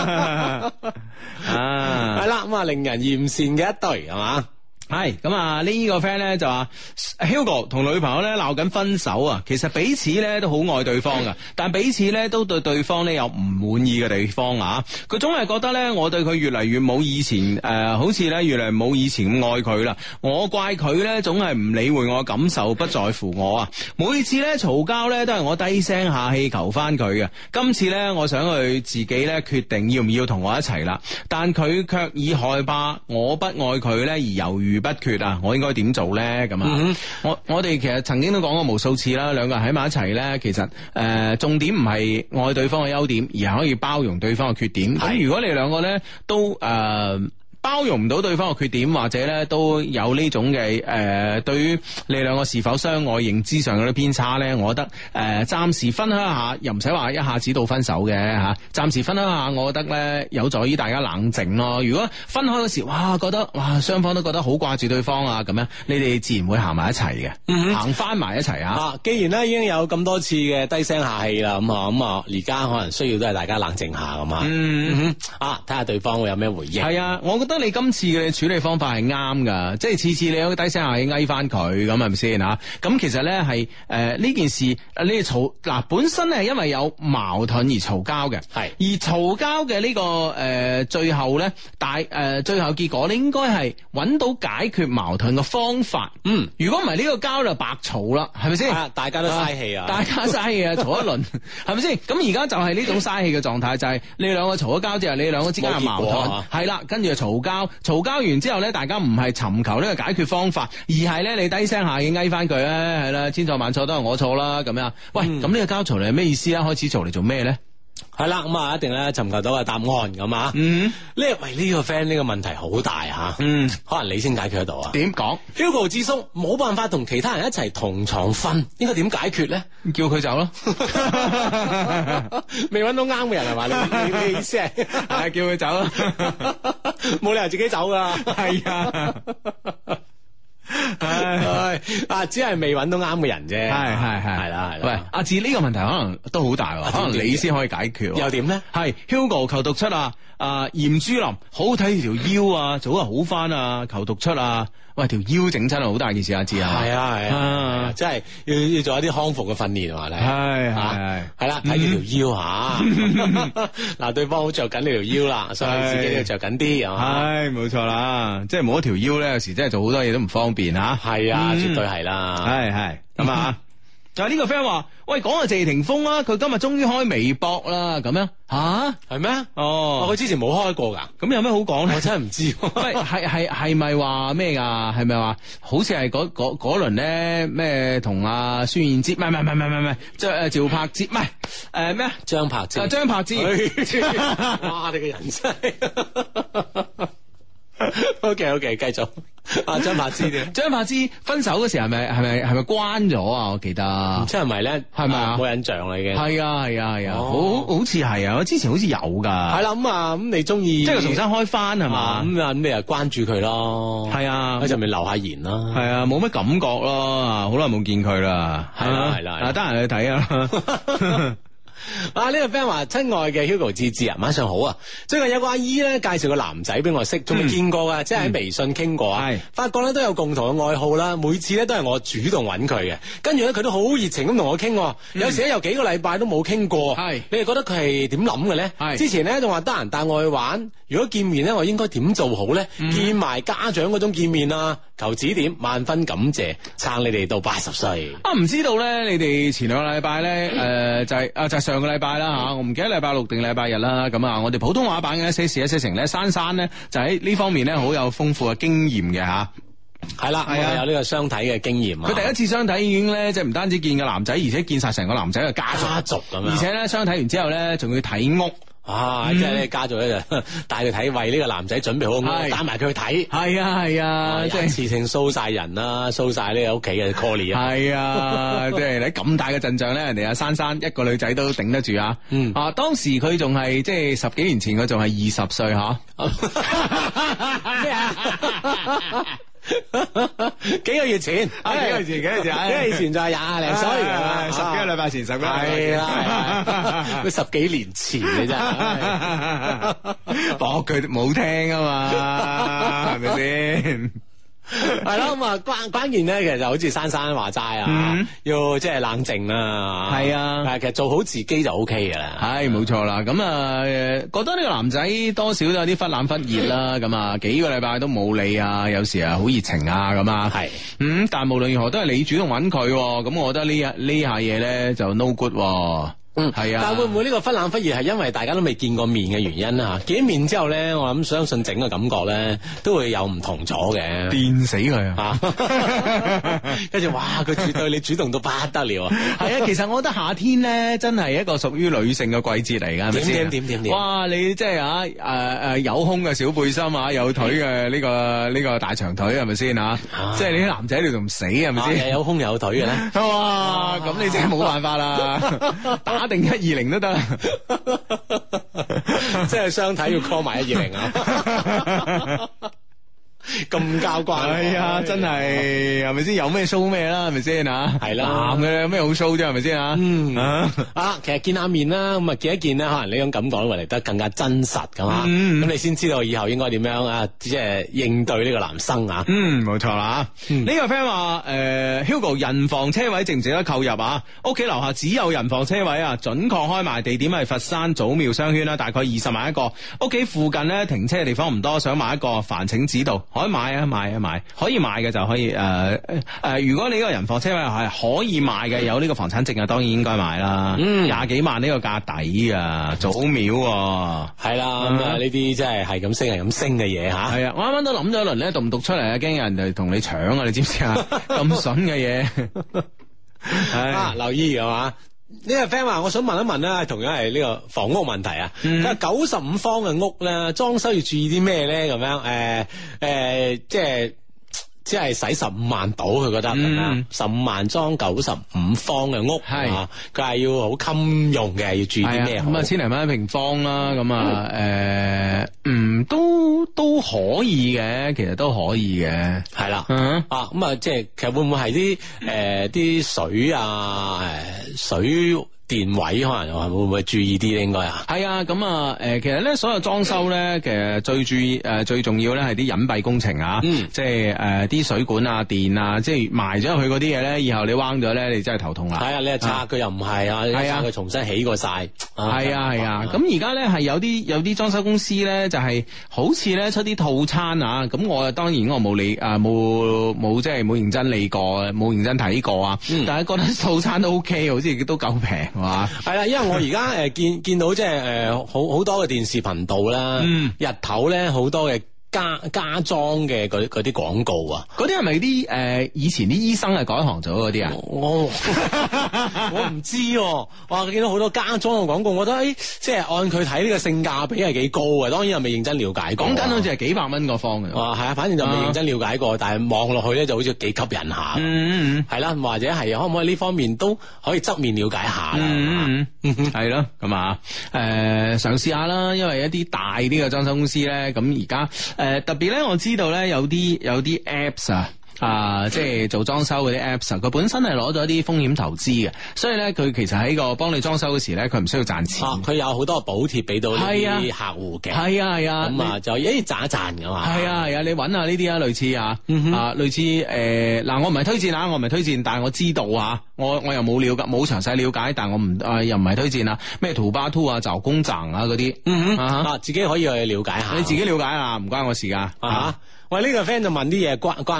係啦，咁啊令人艷羨嘅一對係嘛。 係咁啊！呢個 friend 咧就話 Hugo 同女朋友咧鬧緊分手啊，其實彼此咧都好愛對方噶，但彼此咧都對對方咧有唔滿意嘅地方啊。佢總係覺得咧我對佢越嚟越冇以前好似咧越嚟冇以前咁愛佢啦。我怪佢咧總係唔理會我嘅感受，不在乎我啊。每次咧嘈交咧都係我低聲下氣求翻佢嘅。今次咧我想佢自己咧決定要唔要同我一齊啦，但佢卻以害怕我不愛佢咧而猶豫不決啊！我應該點做咧？咁啊，我哋其實曾經都講過無數次啦，兩個人喺埋一齊咧，其實重點唔係愛對方嘅優點，而係可以包容對方嘅缺點。咁如果你兩個咧都包容唔到對方嘅缺點，或者咧都有呢種嘅對於你兩個是否相愛認知上嗰啲偏差咧，我覺得暫時分享一下，又唔使話一下子到分手嘅吓，暫時分享一下，我覺得咧有助於大家冷靜咯。如果分開嗰時，覺得雙方都覺得好掛住對方啊，咁樣你哋自然會行埋一齊嘅，行翻埋一齊啊！ 既然咧已經有咁多次嘅低聲下氣啦，咁啊而家可能需要都係大家冷靜下咁啊，睇下對方會有咩回應。係啊，我覺得你今次嘅處理方法係啱噶，即係次次你都低聲下氣翳翻佢，咁係咪先吓？咁其實咧係呢件事你哋嘈本身係因為有矛盾而嘈交嘅，係而嘈交嘅呢個最後咧最後結果你應該係揾到解決矛盾嘅方法。如果唔係呢個交就白嘈啦，係咪先？大家都嘥氣啊，大家嘥氣啊，嘈一輪係咪先？咁而家就係呢種嘥氣嘅狀態，就係你兩個嘈咗交之後，你兩個之間嘅矛盾係啦，跟住就嘈交完之後咧，大家唔係尋求呢個解決方法，而係咧你低聲下氣翳翻佢咧，係啦，千錯萬錯都係我錯啦，咁樣。喂，咁呢個交嘈嚟係咩意思啊？開始嘈嚟做咩咧？係啦，咁啊一定咧尋求到個答案咁啊。呢個 friend 呢個問題好大吓，可能你先解決得到啊？點講 ？Hugo 智叔冇辦法同其他人一齊同床瞓，應該點解決咧？叫佢走咯。未揾到啱嘅人係嘛？你意思係叫佢走咯，冇理由自己走噶。係啊。只係未揾到啱嘅人啫。係啦。喂，阿志呢個問題可能都好大，可能你先可以解決。又點咧？係 Hugo 求讀出啊！嚴珠林好睇條腰啊，早日好翻啊！求讀出啊！喂，條腰整親係好大件事，阿志啊！係啊，即係要做一啲康復嘅訓練啊！係啦，睇住條腰吓。嗱，對方好着緊呢條腰啦，所以自己都要着緊啲啊！係，冇錯啦，即係冇一條腰咧，有時真係做好多嘢都唔方便吓。係啊，絕對係啦。係咁啊！就呢個 friend 話，喂，講下謝霆鋒啦，佢今日終於開微博啦，咁樣吓係咩？哦，佢之前冇開過噶，咁有咩好講咧？我真係唔知。喂，係咪話咩噶？係咪話好似係嗰輪咧咩同阿孫燕姿？唔係，趙柏芝，唔係咩啊？張柏芝。張柏芝。哇！你個人真係。OK，繼續。張柏芝分手嗰時係咪關咗啊？我記得，唔知係咪咧？係咪啊？冇印象啦已經。係啊，好似係啊，我之前好似有噶。係啦，咁你中意即係重新開翻係嘛？咁你又關注佢咯。係啊，喺上面留下言啦。係啊，冇乜感覺咯，好耐冇見佢啦。係啦，得閒去睇啊。呢個 friend 話，親愛嘅 Hugo 志志啊，晚上好啊！最近有個阿姨咧介紹個男仔俾我識，仲未見過噶，即係喺微信傾過啊。發覺咧都有共同嘅愛好啦，每次咧都係我主動揾佢嘅，跟住咧佢都好熱情咁同我傾，有時咧有幾個禮拜都冇傾過。你哋覺得佢係點諗嘅咧？之前咧仲話得閒帶我去玩，如果見面咧我應該點做好咧？見埋家長嗰種見面啊，求指點，萬分感謝，撐你哋到80歲。唔知道咧，你哋前兩個禮拜咧，就係上個禮拜啦吓，我唔記得禮拜六定禮拜日啦。咁啊，我哋普通話版嘅一些事一些情咧，珊珊咧就喺呢方面咧好有豐富嘅經驗嘅吓。 係啦， 係啊有呢個相睇嘅經驗啊。 佢第一次相睇已經咧，即係唔單止見個男仔，而且見晒成個男仔嘅家族咁樣， 而且咧相睇完之後咧，仲要睇屋。 即係咧家族咧就帶佢睇，為呢個男仔準備好屋，帶埋佢去睇。 係啊，即係一次性 show 晒人啦，show 晒呢個屋企嘅 call 啊。 係啊，即係你咁大嘅陣仗咧，人哋阿珊珊一個女仔都頂得住啊。當時佢仲係即係10幾年前，佢仲係20歲吓。 咩啊？幾個月前， 幾個月前就係 20零歲 ，10幾個禮拜前，10幾個禮拜前， 係啦，佢10幾年前嘅啫， 搏佢冇聽啊嘛，係咪先？ 係啦，咁啊關鍵咧，其實就好似珊珊話齋啊，要即係冷靜啦， 係啊， 但係其實做好自己就 O K 噶啦， 係冇錯啦。咁啊，覺得呢個男仔多少都有啲忽冷忽熱啦，咁啊幾個禮拜都冇理啊，有時啊好熱情啊咁啊，係，但係無論如何都係你主動揾佢，咁我覺得呢下嘢咧就 no good。係啊， 但係會唔會呢個忽冷忽熱係因為大家都未見過面嘅原因啊？見面之後咧，我諗相信整個感覺咧都會有唔同咗嘅， 電死佢啊！ 跟住哇，佢絕對你主動到不得了啊！ 係啊，其實我覺得夏天咧真係一個屬於女性嘅季節嚟㗎，係咪先？ 點？ 哇！你即係有胸嘅小背心啊，有腿嘅呢個大長腿係咪先啊？即係你啲男仔你仲唔死係咪先？ 有胸有腿嘅咧， 哇！咁你真係冇辦法啦，打定120都得， 即係相睇要 call 埋120啊！咁交關， 係啊，真係咪先？有咩 show 咩啦，係咪先啊？ 係啦， 男嘅有咩好 show 啫，係咪先啊？ 其實見下面啦，咁啊見一見咧，可能呢種感覺會嚟得更加真實噶嘛。咁你先知道以後應該點樣啊，即係應對呢個男生啊。 冇錯啦。呢個 friend 話Hugo 人房車位值唔值得購入啊？屋企樓下只有人房車位啊，準確開賣地點係佛山祖廟商圈啦，大概20萬一個。屋企附近咧停車嘅地方唔多，想買一個，煩請指導。可以買啊，買，可以買嘅就可以如果你呢個人房車位係可以買嘅，有呢個房產證啊，當然應該買啦。20幾萬呢個價抵啊，祖廟係啦，咁啊呢啲真係咁升嘅嘢吓。係啊， 我啱啱都諗咗一輪咧，讀唔讀出嚟啊？驚有人嚟同你搶啊！你知唔知啊？咁筍嘅嘢， 留意係嘛？呢個 friend 話，我想問一問啦，同樣係呢個房屋問題啊。佢話95方嘅屋咧，裝修要注意啲咩咧？咁樣即係使15萬到，佢覺得15萬裝95方嘅屋，係佢係要好襟用嘅，要注意啲咩？ 咁啊，1000零蚊一平方啦，咁啊，都可以嘅，其實都可以嘅， 係啦，咁啊，即係其實會唔會係啲水啊，水電位可能會唔會注意啲咧？應該啊， 係啊，咁啊，其實咧所有裝修咧，其實最注意最重要咧係啲隱蔽工程啊，即係啲水管啊、電啊，即係埋咗入去嗰啲嘢咧，以後你彎咗咧，你真係頭痛啦。係啊，你拆佢又唔係啊，係啊，佢重新起過晒。係啊，咁而家咧係有啲裝修公司咧，就係好似咧出啲套餐啊，咁我當然我冇理冇即係冇認真理過，冇認真睇過啊，但係覺得套餐都 OK，好似都夠平。 係啦，因為我而家見到即係好多嘅電視頻道啦，日頭咧好多嘅家裝嘅嗰啲廣告啊， 嗰啲係咪啲以前啲醫生係改行咗嗰啲啊？ 我唔知，哇！見到好多家裝嘅廣告，我覺得即係按佢睇呢個性價比係幾高嘅，當然又未認真了解過。講緊好似係幾百蚊個方嘅。係啊，反正就未認真了解過，但係望落去咧就好似幾吸引下。係啦，或者係可唔可以呢方面都可以側面了解下啦。 係咯，咁啊，嘗試下啦，因為一啲大啲嘅裝修公司咧，咁而家特別咧，我知道咧有啲 apps 即係做裝修嗰啲 apps，佢本身係攞咗一啲風險投資嘅，所以咧佢其實喺個幫你裝修嗰時咧，佢唔需要賺錢，佢有好多補貼俾到呢啲客戶嘅，係啊，咁啊就賺一賺噶嘛，係啊，你揾下呢啲啊，類似類似嗱，我唔係推薦，但係我知道我又冇冇詳細了解，但係我唔又唔係推薦咩圖巴圖啊、找工站啊嗰啲，自己可以去了解下，你自己了解下，唔關我事噶。喂，呢個 friend 就問啲嘢關你事咯，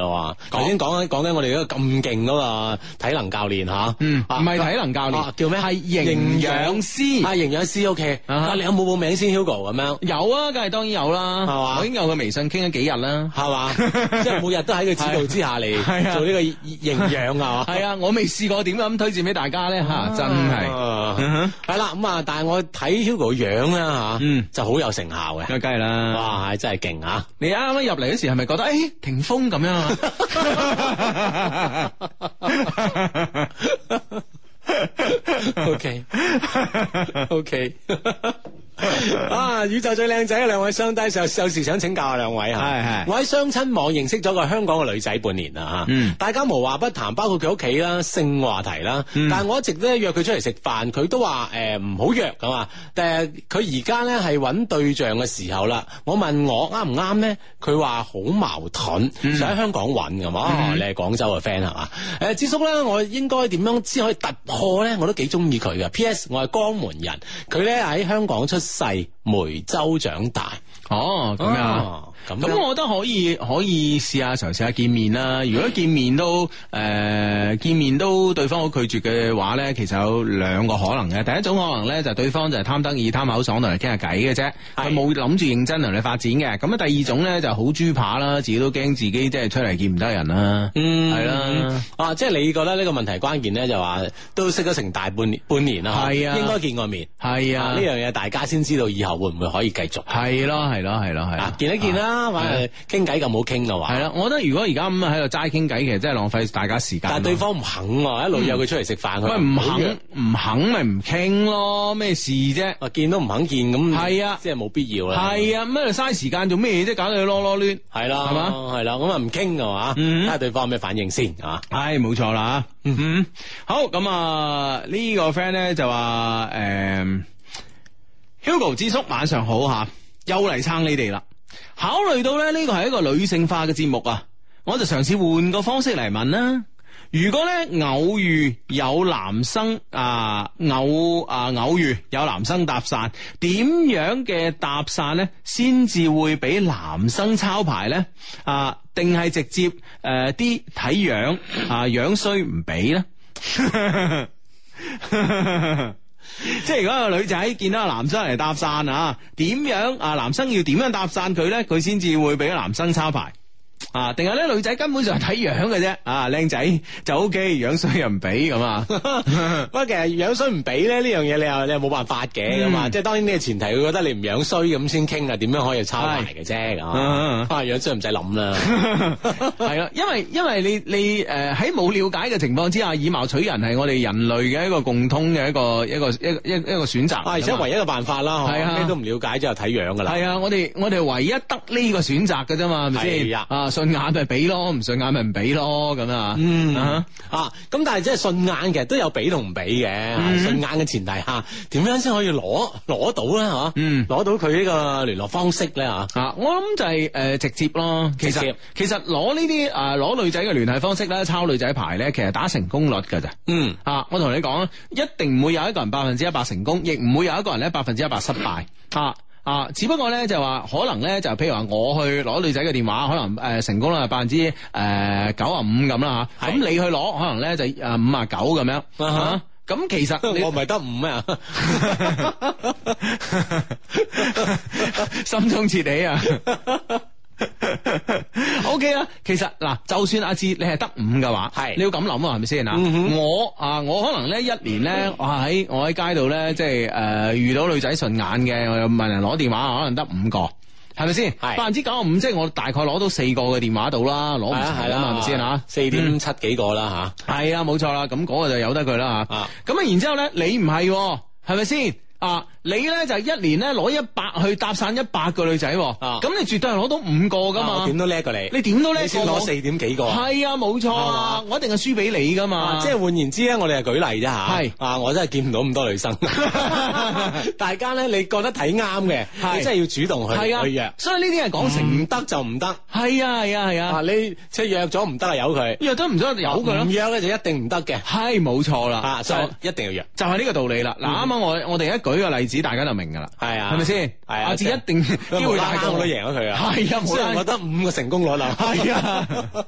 咯。頭先講緊我哋嗰個咁勁嗰個體能教練吓， 唔係體能教練， 叫咩？ 係營養師。 啊，營養師 OK。你有冇報名先 Hugo 咁樣？ 有啊，梗係當然有啦，係嘛？我已經有個微信傾咗幾日啦， 係嘛？即係每日都喺佢指導之下嚟做呢個營養啊嘛。 係啊，我未試過點咁推薦俾大家咧吓，真係係啦咁啊！但係我睇 Hugo 樣啦吓，就好有成效嘅， 梗係啦， 哇，真係勁啊！ 你啱啱入嚟嗰時係咪覺得霆鋒咁樣啊 ？OK。啊！宇宙最靚仔嘅兩位雙低，有時想請教下兩位吓。係我喺相親網認識咗個香港嘅女仔半年啦吓。大家無話不談，包括佢屋企啦、性話題啦。但係我一直咧約佢出嚟食飯，佢都話唔好約咁啊。但係佢而家咧係揾對象嘅時候啦。我問我啱唔啱咧，佢話好矛盾，想喺香港揾咁嘛。你係廣州嘅 friend 係嘛？智叔咧，我應該點樣先可以突破咧？我都幾中意佢嘅。P.S. 我係江門人，佢咧喺香港出世，梅州長大。 哦，咁樣。咁我覺得可以試下嘗試下見面啦。如果見面都對方好拒絕嘅話咧，其實有兩個可能嘅。第一種可能咧就對方就係貪得意貪口爽同你傾下偈嘅啫，佢冇諗住認真同你發展嘅。咁啊第二種咧就好豬扒啦，自己都驚自己即係出嚟見唔得人啦。係啦。即係你覺得呢個問題關鍵咧就話都識咗成大半年啦，係啊，應該見過面。係啊，呢樣嘢大家先知道以後會唔會可以繼續。係咯，見一見啦。傾偈咁好傾嘅話，係啦，我覺得如果而家咁喺度齋傾偈，其實真係浪費大家時間。但係對方唔肯，一路約佢出嚟食飯，佢唔肯咪唔傾咯，咩事啫？見都唔肯見咁，係啊，即係冇必要啦。係啊，咁喺度嘥時間做咩啫？搞到佢囉囉攣，係啦，係嘛，係啦，咁啊唔傾嘅嘛，睇下對方有咩反應先啊。係冇錯啦，好咁啊，呢個 friend 咧就話Hugo 智叔晚上好吓，又嚟撐你哋啦。考慮到咧呢個係一個女性化嘅節目啊，我就嘗試換個方式嚟問啦。如果咧偶遇有男生偶遇有男生搭訕，點樣嘅搭訕咧先至會俾男生抄牌咧？定係直接啲睇樣樣衰唔俾咧？即係如果個女仔見到個男生嚟搭訕點樣男生要點樣搭訕佢咧，佢先至會俾個男生抄牌定係咧女仔根本上係睇樣嘅啫，靚仔就 OK， 樣衰又唔俾咁啊。不過其實樣衰唔俾咧呢樣嘢，你又冇辦法嘅咁啊。即係當然呢個前提，佢覺得你唔樣衰咁先傾啊，點樣可以抄牌嘅啫。樣衰唔使諗啦。係啦，因為你喺冇了解嘅情況之下，以貌取人係我哋人類嘅一個共通嘅一個選擇，而且唯一嘅辦法啦。係啊，咩都唔了解之後睇樣噶啦。係啊，我哋唯一得呢個選擇嘅啫嘛，係咪先？順眼咪俾咯，唔順眼咪唔俾咯，咁咁但係即係順眼其實都有俾同唔俾嘅。順眼嘅前提下，點樣先可以攞到咧？攞到佢呢個聯絡方式咧？我諗就係直接咯。其實攞呢啲攞女仔嘅聯繫方式咧，抄女仔牌咧，其實打成功率噶咋。我同你講，一定唔會有一個人100%成功，亦唔會有一個人咧100%失敗。只不過咧就話可能咧就譬如話我去攞女仔嘅電話，可能成功率係95%咁啦吓，咁你去攞可能咧就59%咁樣。咁其實我唔係得5咩啊？心中切起啊！OK 啦，其實嗱，就算阿志你係得5嘅話，係你要咁諗啊，係咪先啊？我可能咧一年咧，我喺街度咧，即係遇到女仔順眼嘅，我又問人攞電話，可能得5個，係咪先？95%即係我大概攞到4個嘅電話度啦，攞唔齊啦嘛，係咪先啊？4.7幾個啦吓，係啊，冇錯啦，咁嗰個就由得佢啦吓。咁然之後咧，你唔係，係咪先？你咧就一年咧攞100去搭訕100個女仔，咁你絕對係攞到5個噶嘛？我點都叻過你，你點都叻過我，你先攞4點幾個。係啊，冇錯啊，我一定係輸俾你噶嘛。即係換言之咧，我哋係舉例啫吓。係我真係見唔到咁多女生。大家咧，你覺得睇啱嘅，你真係要主動去約。所以呢啲係講成唔得就唔得。係啊。你即係約咗唔得啊，由佢。約都唔得，由佢咯。唔約咧就一定唔得嘅。係冇錯啦，所以一定要約。就係呢個道理啦。嗱，啱啱我哋一舉個例子子，大家就明噶啦， 係啊， 係咪先？ 係啊， 阿志一定機會大過我都贏咗佢啊， 係啊， 雖然我得5個成功率啦， 係啊。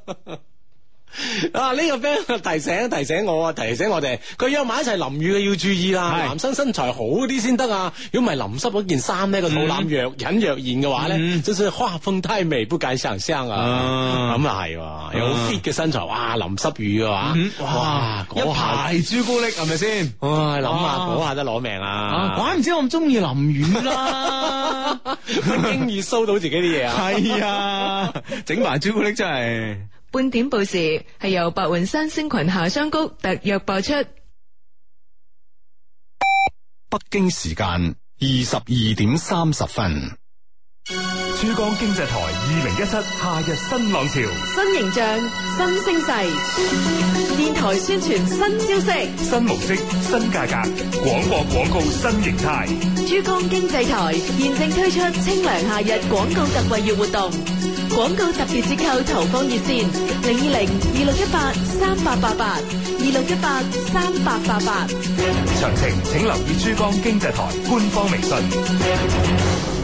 啊！呢、個 friend 提醒我哋，佢約埋一齊淋雨嘅要注意啦。男生身材好啲先得啊！如果唔係淋濕嗰件衫呢，個肚腩若隱若現嘅話咧，真係畫風太美，不敢想象啊！咁啊係，有好 fit 嘅身材，哇！淋濕雨嘅話，哇！ 一排朱古力係咪先？ 哇！諗下嗰下都攞命啊！ 怪唔知我咁中意淋雨啦， 輕易騷到自己啲嘢啊！ 係啊，整埋朱古力真係。 半點報時係由白雲山星群夏桑菊特約播出。 北京時間22:30。 珠江經濟台2017夏日新浪潮， 新形象、新聲勢，電台宣傳新招式， 新模式、新價格，廣播廣告新形態。 珠江經濟台現正推出清涼夏日廣告特惠月活動，廣告特別折扣投放熱線020-2618-3888 2618-3888。 詳情請留意珠江經濟台官方微信。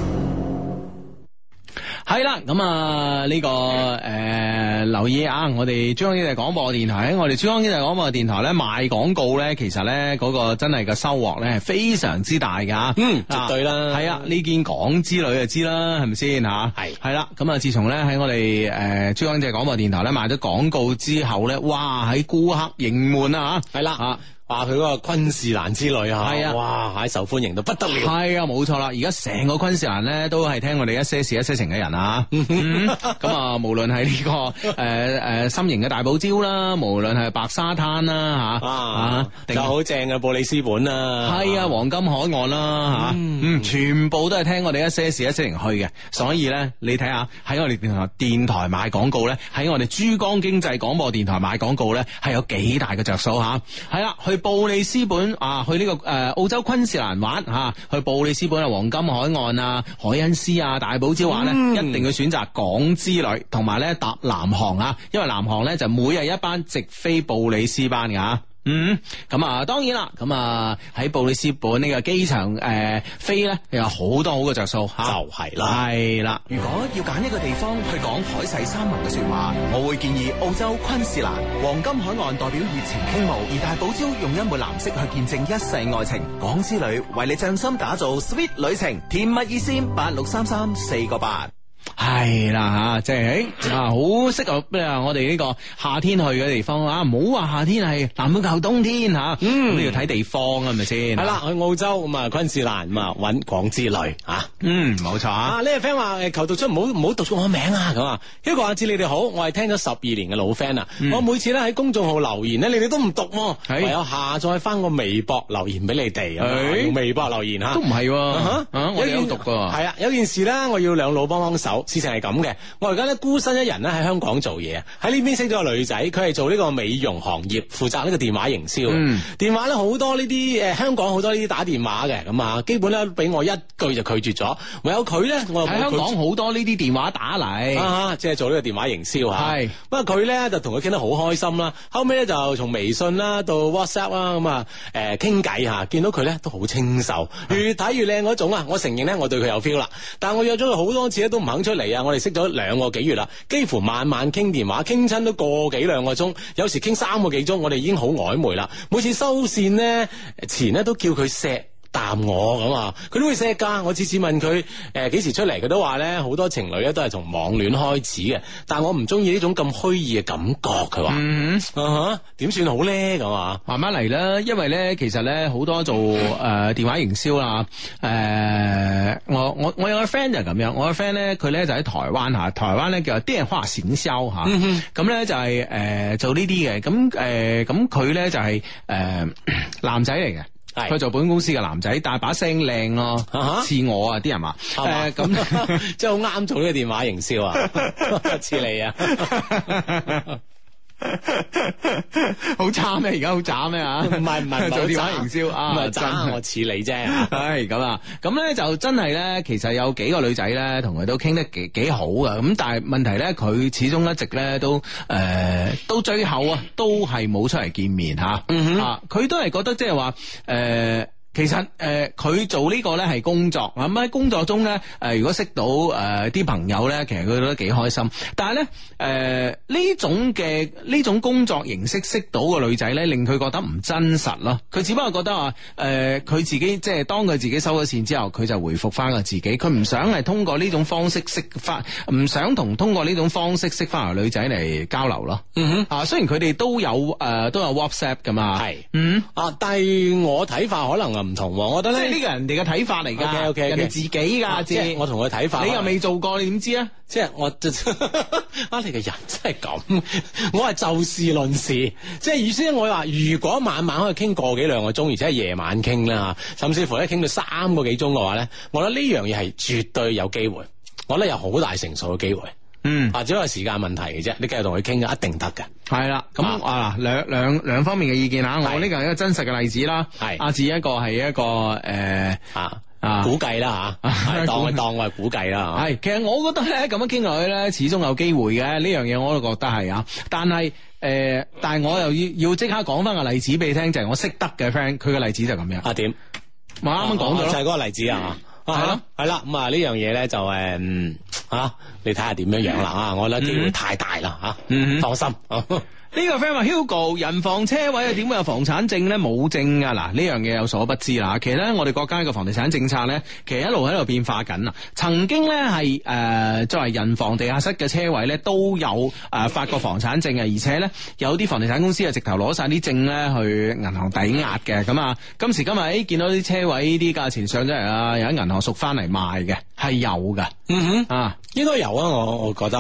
係啦，咁啊呢個留意啊，我哋珠江經濟廣播電台喺我哋珠江經濟廣播電台咧賣廣告咧，其實咧嗰個真係個收穫咧係非常之大噶。 絕對啦。 係啊，呢件港之旅就知啦，係咪先吓？係啦，咁啊自從咧喺我哋珠江經濟廣播電台咧賣咗廣告之後咧，哇喺顧客盈滿啊吓。係啦話佢嗰個昆士蘭之旅啊， 係啊， 哇，受歡迎到不得了。 係啊，冇錯啦，而家成個昆士蘭咧都係聽我哋一些事一些情嘅人啊。咁啊，無論係呢個心形嘅大堡礁啦，無論係白沙灘啦吓， 就好正嘅布里斯本啦， 係啊，黃金海岸啦吓，全部都係聽我哋一些事一些情去嘅。所以咧，你睇下喺我哋電台買廣告咧，喺我哋珠江經濟廣播電台買廣告咧，係有幾大嘅着數吓。係啦，去布里斯本啊，去呢個澳洲昆士蘭玩吓，去布里斯本啊，黃金海岸啊，海恩斯啊，大堡礁玩咧，一定要選擇港之旅，同埋咧搭南航啊，因為南航咧就每日一班直飛布里斯班嘅吓。咁啊，當然啦，咁啊喺布里斯本呢個機場飛咧，有好多好嘅着數吓， 就係啦， 係啦。 如果要揀一個地方去講海誓山盟嘅說話，我會建議澳洲昆士蘭黃金海岸代表熱情傾慕，而大堡礁用一抹藍色去見證一世愛情。港之旅為你匠心打造 sweet 旅程，甜蜜熱線8633-4個8。 係啦吓，即係好適合我哋呢個夏天去嘅地方啊！唔好話夏天係南半球冬天吓，咁你要睇地方係咪先？ 係啦，去澳洲咁啊，昆士蘭咁啊，搵港之旅吓。 冇錯啊！ 呢個 friend 話求讀出唔好讀出我名啊咁啊！一個阿志你哋好，我係聽咗12年嘅老 friend 啊，我每次咧喺公眾號留言咧，你哋都唔讀，唯有下載翻個微博留言俾你哋，用微博留言吓， 都唔係，我哋都讀噶。 係啊，有件事咧，我要兩老幫幫手。事情係咁嘅，我而家咧孤身一人咧喺香港做嘢，喺呢邊識咗個女仔，佢係做呢個美容行業，負責呢個電話營銷。電話咧好多呢啲香港好多呢啲打電話嘅，咁啊基本咧俾我一句就拒絕咗。唯有佢咧，我喺香港好多呢啲電話打嚟， 即係做呢個電話營銷吓。 係， 不過佢咧就同佢傾得好開心啦。後尾咧就從微信啦到 WhatsApp 啦咁啊傾偈吓，見到佢咧都好清秀，越睇越靚嗰種啊！我承認咧我對佢有 feel 啦，但我約咗佢好多次咧都唔肯出嚟啊！我哋識咗2個幾月啦，幾乎晚晚傾電話，傾親都個幾2個鐘，有時傾3個幾鐘，我哋已經好曖昧啦。每次收線呢，前呢都叫佢錫啖我咁啊，佢都會錫噶。我次次問佢幾時出嚟，佢都話咧好多情侶咧都係從網戀開始嘅，但我唔中意呢種咁虛擬嘅感覺。佢話點算好咧咁啊？ 慢慢嚟啦，因為咧其實咧好多做電話營銷啦，我有個 friend 就係咁樣，我個 friend 咧佢咧就喺台灣吓，台灣咧叫電話行銷吓，咁咧就係做呢啲嘅，咁佢咧就係男仔嚟嘅。佢做保險公司嘅男仔，但係把聲靚咯，似我啊啲人話， 咁即係好啱做呢個電話營銷啊，似你啊。 好渣咩？而家好渣咩啊？ 唔係做電話營銷啊， 唔係渣，我似你啫。 係咁啊，咁咧就真係咧，其實有幾個女仔咧，同佢都傾得幾好噶。咁但係問題咧，佢始終一直咧都到最後啊，都係冇出嚟見面吓。佢都係覺得即係話其實佢做呢個咧係工作，咁喺工作中咧如果識到啲朋友咧，其實佢都幾開心。但係咧呢種工作形式識到個女仔咧，令佢覺得唔真實咯。佢只不過覺得話佢自己即係當佢自己收咗線之後，佢就回復翻個自己，佢唔想係通過呢種方式識翻，唔想通過呢種方式識翻條女仔嚟交流咯。雖然佢哋都有 WhatsApp 噶嘛，係但係我睇法可能唔同，我覺得咧呢個人哋嘅睇法嚟噶，OK，人哋自己噶， 即係我同佢睇法， 你又未做過，你點知啊？ 即係我你個人真係咁，我係就事論事，即係意思我話如果晚晚可以傾個幾兩個鐘，而且係夜晚傾啦，甚至乎咧傾到3個幾鐘嘅話咧，我覺得呢樣嘢係絕對有機會，我覺得有好大成數嘅機會。只係時間問題嘅啫，你繼續同佢傾嘅一定得嘅。 係啦，咁兩方面嘅意見吓，我呢個係一個真實嘅例子啦。係阿志一個係一個估計啦吓，當我係估計啦。 係，其實我覺得咧咁樣傾落去咧，始終有機會嘅呢樣嘢，我都覺得係啊。但係我又要即刻講翻個例子俾你聽，就係我識得嘅 friend，佢嘅例子就咁樣。 點？ 我啱啱講咗就係嗰個例子啊。係咯，係啦，咁呢樣嘢咧就你睇下點樣樣啦我覺得機會太大啦放心。呢個 friend 話 Hugo 人防車位啊，點會有房產證咧？冇證啊！嗱，呢樣嘢有所不知啦。其實咧，我哋國家嘅房地產政策咧，其實一路喺度變化緊啊。曾經咧係作為人防地下室嘅車位咧，都有發過房產證嘅，而且咧有啲房地產公司啊，直頭攞晒啲證咧去銀行抵押嘅。咁啊，今時今日見到啲車位啲價錢上咗嚟啦，有喺銀行贖翻嚟賣嘅，係有㗎。 應該有啊，我覺得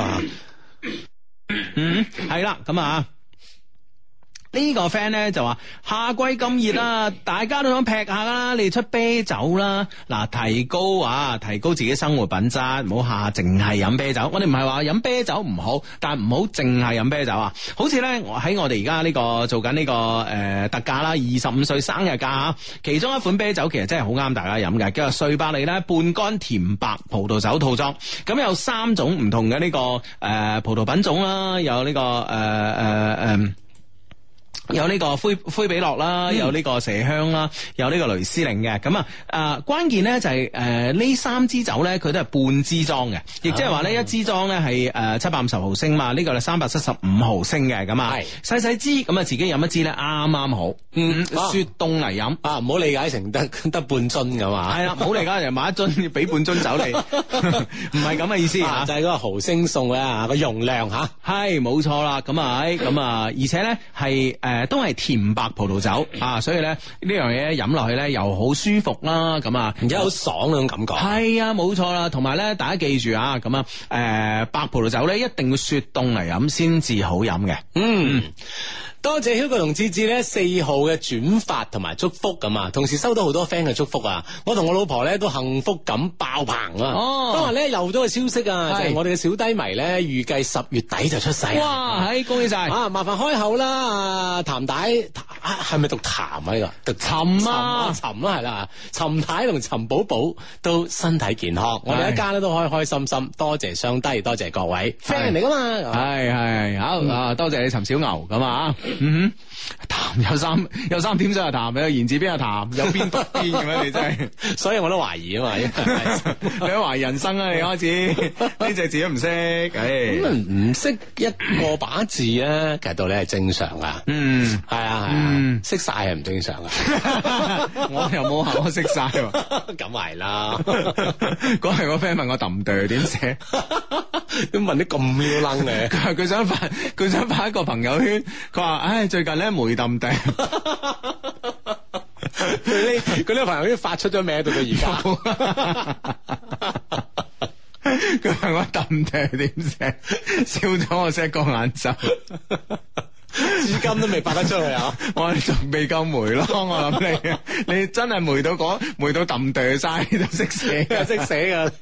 係啦，咁啊。呢個 friend 咧就話夏季咁熱啦，大家都想劈下啦，你哋出啤酒啦，嗱，提高自己生活品質，唔好下淨係飲啤酒。我哋唔係話飲啤酒唔好，但係唔好淨係飲啤酒啊。好似咧喺我哋而家呢個做緊呢個特價啦，25歲生日價，其中一款啤酒其實真係好啱大家飲嘅，叫做瑞百利咧半乾甜白葡萄酒套裝。咁有3種唔同嘅呢個葡萄品種啦，有呢個有呢個灰比樂啦，有呢個麝香啦，有呢個雷司令嘅。咁關鍵咧就係呢3支酒咧，佢都係半支裝嘅，亦即係話呢一支裝咧係750毫升嘛，呢個係375毫升嘅。咁細細支，咁自己飲一支咧啱啱好。雪凍嚟飲唔好理解成得半樽噶嘛。係啦，唔好理解人買一樽要俾半樽酒你，唔係咁嘅意思就係嗰個毫升數嘅個容量吓。 係冇錯啦。咁而且咧係都係甜白葡萄酒所以咧呢樣嘢飲落去咧又好舒服啦， 而且好爽嗰種感覺。 係啊，冇錯啦。同埋咧，大家記住啊，白葡萄酒咧一定要雪凍嚟飲先至好飲嘅。 多謝 Hugo 同志志咧4號嘅轉發同埋祝福咁啊，同時收到好多 friend 嘅祝福啊，我同我老婆咧都幸福感爆棚啊！當日咧又咗個消息啊，就係我哋嘅小低迷咧預計10月底就出世。 哇，恭喜晒！ 麻煩開口啦，譚太係咪讀譚啊？呢個讀尋啊，尋啦係啦，尋太同尋寶寶都身體健康，我哋一家咧都開開心心。多謝雙低，多謝各位 friend 嚟噶嘛， 係好多謝你尋小牛咁啊！譚有三點水係譚，有言字邊係譚，有邊讀邊咁樣，你真係， 所以我都懷疑啊嘛， 你都懷疑人生啊，你開始呢隻字都唔識， 唔識一個把字咧，其實道理係正常噶，係啊，識晒係唔正常噶， 我又冇話我識晒， 咁係啦， 嗰日個 friend 問我揼哚點寫， 都問啲咁妙楞嘅， 佢想發一個朋友圈，佢話唉最近咧梅揼哚， 佢呢個朋友圈發出咗名到而家。 佢問我揼哚點寫，笑咗我成個眼晝， 至今都未發得出去啊！ 我仲未夠霉咯，我諗你真係霉到揼哚晒，你都識寫噶， 識寫噶。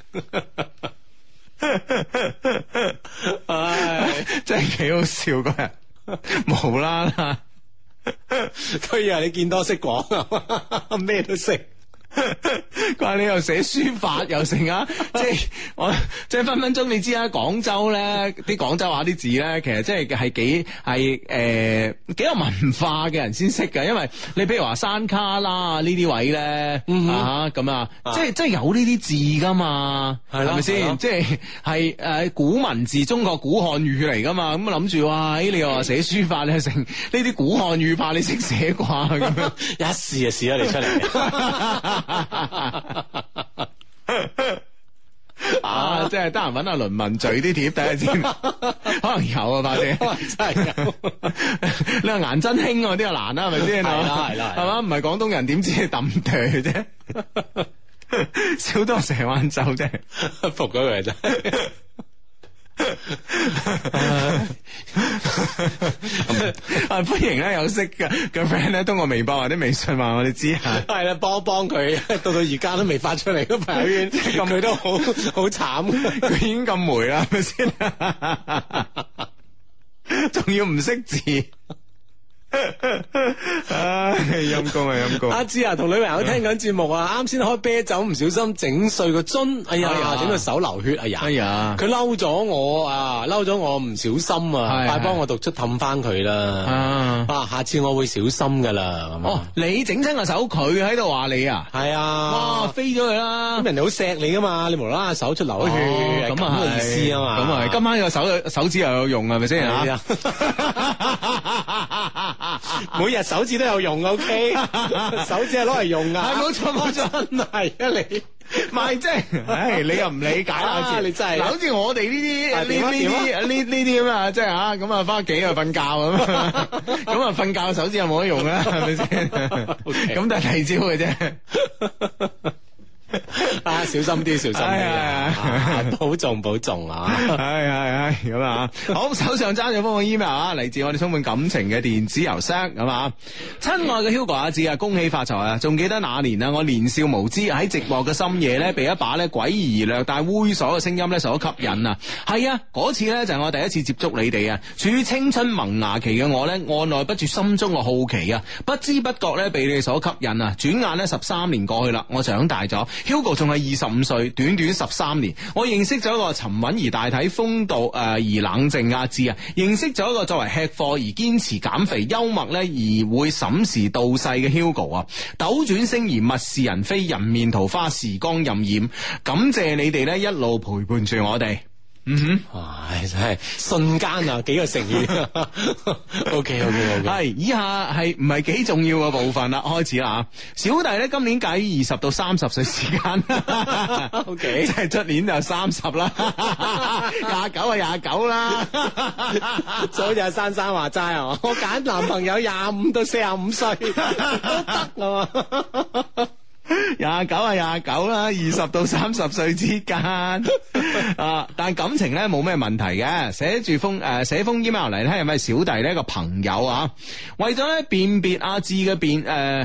唉，真係幾好笑嗰日，無啦啦， 佢以為你見多識廣，咩都識。 佢話你又寫書法又成啊，即係我即係分分鐘你知啊，廣州咧啲廣州話啲字咧，其實即係幾有文化嘅人先識㗎，因為你譬如話山卡拉呢啲位咧咁啊，即係有呢啲字噶嘛，係咪先？即係古文字，中國古漢語嚟噶嘛，咁諗住哇，你又話寫書法咧成呢啲古漢語怕你識寫啩咁樣， 一試就試咗你出嚟。 啊！即係得閒揾阿倫文序啲貼睇下先，可能有啊，快啲， 真係有。 你話顏真卿嗰啲又難啦，係咪先？ 係啦， 係嘛？唔係廣東人點知你揼哚啫？少多成晏晝啫， 服咗佢真係。 歡迎咧有識嘅 friend 咧通過微博或者微信話我哋知下， 係啦，幫佢到而家都未發出嚟個朋友圈，咁佢都好慘， 佢已經咁霉啦，係咪先？仲要唔識字。陰公啊陰公！ 阿芝啊，同女朋友聽緊節目啊，啱先開啤酒唔小心整碎個樽，哎呀，整到手流血，哎呀，佢嬲咗我啊，嬲咗我唔小心啊，快幫我讀出氹翻佢啦，下次我會小心噶啦。 哦，你整親個手，佢喺度話你啊？ 係啊， 哇，飛咗佢啦！ 咁人哋好錫你噶嘛，你無啦啦手出流血，咁啊意思啊嘛， 咁啊，今晚個手指又有用係咪先啊？ 每日手指都有用 ，OK， 手指係攞嚟用噶， 係冇錯， 真係啊你， 唔係即係，唉，你又唔理解啦， 你真係， 好似我哋呢啲咁啊，即係吓咁啊，翻屋企啊瞓覺咁啊瞓覺手指又冇得用啦，係咪先？咁但係第二招嘅啫。 啊，小心啲，小心啲，保重啊！ 係咁啊！好，手上揸咗封個 email 啊，嚟自我哋充滿感情嘅電子郵箱咁啊！親愛嘅 Hugo 阿志啊，恭喜發財啊！仲記得那年啊，我年少無知喺寂寞嘅深夜咧，被一把咧詭異而略帶猥瑣嘅聲音咧所吸引啊！係啊，嗰次咧就係我第一次接觸你哋啊！處於青春萌芽期嘅我咧，按捺不住心中嘅好奇啊！不知不覺咧被你哋所吸引啊！轉眼咧13年過去啦，我長大咗。Hugo 仲係25歲，短短13年，我認識咗一個沉穩而大體、風度而冷靜阿志啊，認識咗一個作為吃貨而堅持減肥、幽默咧而會審時度勢嘅 Hugo 啊，斗轉星移，物是人非，人面桃花，時光荏苒，感謝你哋咧一路陪伴住我哋。 唉，真係瞬間啊，幾個成語。OK， 係以下係唔係幾重要嘅部分啦，開始啦。小弟咧今年介於20到30歲時間，OK，即係出年就30啦，29啦， 就好似阿珊珊話齋啊，我揀男朋友25到45歲都得啊嘛。 29啦，20到30歲之間啊，但感情咧冇咩問題嘅。寫封 email 嚟咧，係咪小弟呢個朋友啊？為咗咧辨別阿志嘅點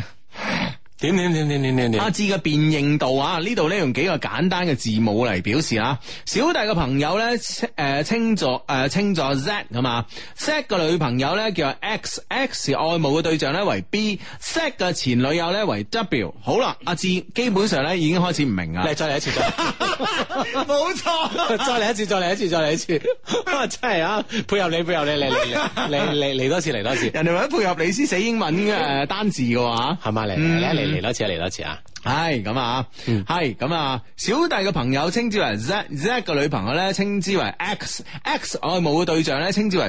阿志嘅辨認度啊，呢度咧用幾個簡單嘅字母嚟表示啊。小弟嘅朋友咧稱作 Z 咁啊 ，Z 嘅女朋友咧叫 X 愛慕嘅對象咧為 B，Z 嘅前女友咧為 W。好啦，阿志基本上咧已經開始唔明啊。 你再嚟一次， 冇錯， 再嚟一次，真係啊！配合你，嚟多次，人哋為咗配合你先寫英文嘅單字嘅話， 係嘛？嚟多次啊！ 係咁啊，係咁啊！小弟嘅朋友稱之為 Z 嘅女朋友咧稱之為 X 愛慕嘅對象咧稱之為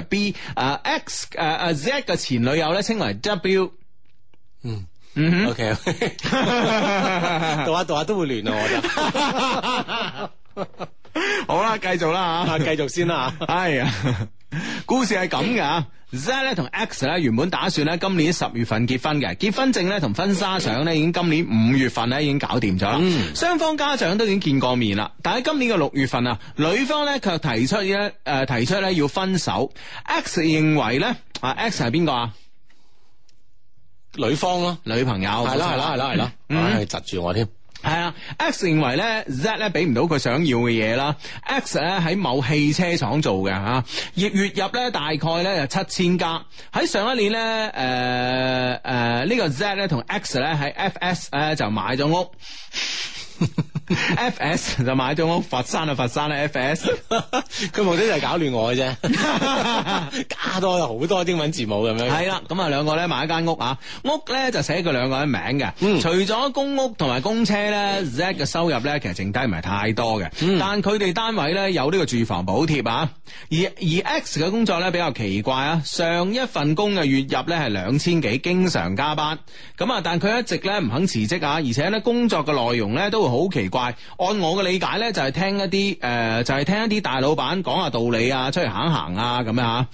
B，Z 嘅前女友咧稱為 W。 OK， 讀下都會亂啊！我覺得。 好啦，繼續啦吓， 繼續先啦。 係啊，故事係咁嘅。Z 咧同 X 咧原本打算咧今年10月份結婚嘅，結婚證咧同婚紗相咧已經今年5月份咧已經搞掂咗啦。雙方家長都已經見過面啦，但喺今年嘅6月份啊，女方咧卻提出咧要分手。X 認為咧X 係邊個啊？ 女方咯， 女朋友。 係啦，唉，窒住我添。 係啊 ，X 認為咧 Z 咧俾唔到佢想要嘅嘢啦。X 咧喺某汽車廠做嘅吓，月入咧大概咧就7000加。喺上一年咧，呢個 Z 咧同 X 咧喺 FS 咧就買咗屋。FS 就買咗屋，佛山咧 FS， 佢目的就係搞亂我嘅啫，加多咗好多英文字母咁樣。 係啦，咁啊兩個咧買一間屋啊，屋咧就寫佢兩個人名嘅。除咗公屋同埋公車咧 ，Z 嘅收入咧其實剩低唔係太多嘅，但佢哋單位咧有呢個住房補貼啊。而 X 嘅工作咧比較奇怪啊，上一份工嘅月入咧係2000幾，經常加班。咁啊，但佢一直咧唔肯辭職啊，而且咧工作嘅內容咧都會好奇怪。按我嘅理解咧，就係聽一啲就係聽一啲大老闆講下道理啊，出嚟行一行啊咁樣吓。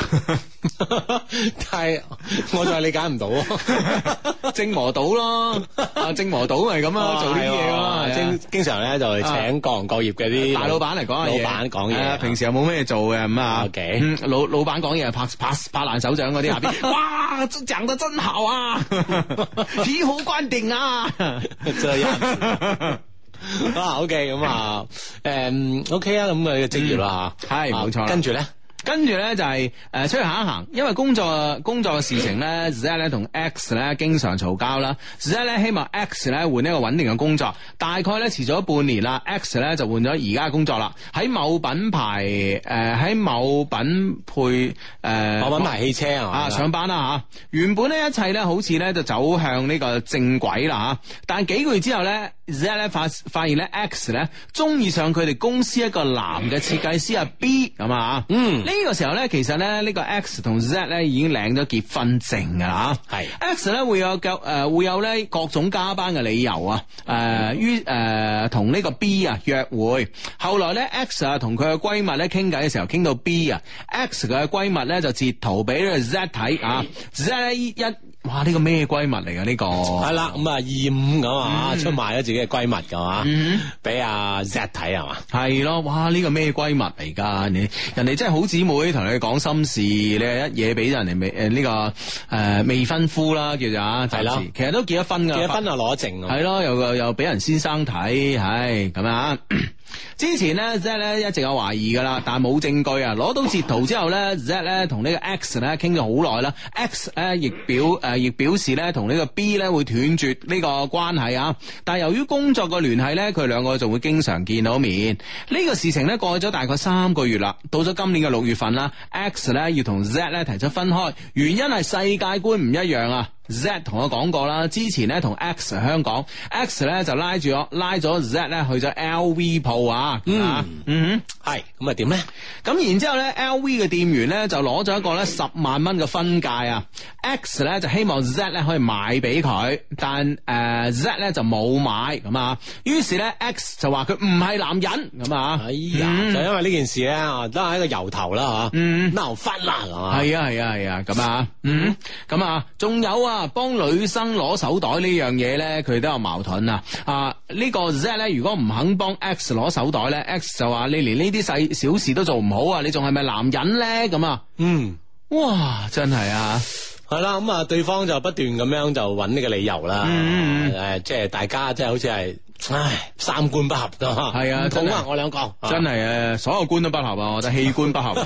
但係我就係理解唔到， 正磨島咯，正磨島係咁啊，做呢啲嘢咯， 經常咧就係請各行各業嘅啲大老闆嚟講下嘢， 老闆講嘢， 平時又冇咩做嘅咁啊。 OK， 老闆講嘢拍爛手掌嗰啲下邊，哇，講得真好啊，醍醐灌頂啊， 這樣。OK， 咁啊，OK 啊，咁嘅職業啦吓， 係冇錯。跟住咧就係出去行一行，因為工作嘅事情咧 ，Z 咧同 X 咧經常嘈交啦。Z 咧希望 X 咧換一個穩定嘅工作，大概咧遲咗半年啦 ，X 咧就換咗而家嘅工作啦。喺某品牌汽車啊上班啦吓。原本咧一切咧好似咧就走向呢個正軌啦吓，但幾個月之後咧 ，Z 咧發現咧 X 咧中意上佢哋公司一個男嘅設計師B 咁啊，呢個時候咧，其實咧呢個 X 同 Z 咧已經領咗結婚證噶啦，係 X 咧會有咧各種加班嘅理由啊，同呢個 B 啊約會。後來咧 X 啊同佢嘅閨蜜咧傾偈嘅時候，傾到 B 啊 ，X 嘅閨蜜咧就截圖俾呢個 Z 睇啊 ，Z 咧哇！呢個咩閨蜜嚟噶呢個？ 係啦，咁啊25咁啊，出賣咗自己嘅閨蜜噶嘛，俾阿 Z 睇係嘛？係咯，哇！呢個咩閨蜜嚟噶？人哋真係好姊妹，同你講心事，你係一嘢俾人哋呢個未婚夫啦，叫做啊，係啦，其實都結咗婚噶， 結咗婚啊攞證， 係咯，又俾人先生睇，係咁啊。之前咧 Z 咧一直有懷疑噶啦，但係冇證據啊。攞到截圖之後咧 Z 咧同呢個 X 咧傾咗好耐啦。X 咧亦表示咧同呢個 B 咧會斷絕呢個關係啊。但係由於工作嘅聯繫咧，佢兩個就會經常見到面。呢個事情咧過咗大概3個月啦。到咗今年嘅6月份啦 ，X 咧要同 Z 咧提出分開，原因係世界觀唔一樣啊。Z 同我講過啦，之前咧同 X 香港 ，X 咧就拉咗 Z 咧去咗 LV 鋪啊，係咁啊點咧？咁然之後咧 LV 嘅店員咧就攞咗一個咧10萬蚊嘅分界啊 ，X 咧就希望 Z 咧可以買俾佢，但Z 咧就冇買咁啊，於是咧 X 就話佢唔係男人咁啊， 哎呀，就因為呢件事咧都係一個由頭啦吓，鬧翻啦係嘛， 係啊咁啊，咁啊仲有啊。幫女生攞手袋呢樣嘢咧，佢都有矛盾啊！呢個 Z 咧，如果唔肯幫 X 攞手袋咧 ，X 就話你連呢啲細小事都做唔好啊！你仲係咪男人咧？咁啊，哇，真係啊！ 係啦，咁啊，對方就不斷咁樣就揾呢個理由啦，即係大家即係好似係，三觀不合噶，係啊，同啊我兩個， 真係所有觀都不合啊！我覺得器官不合。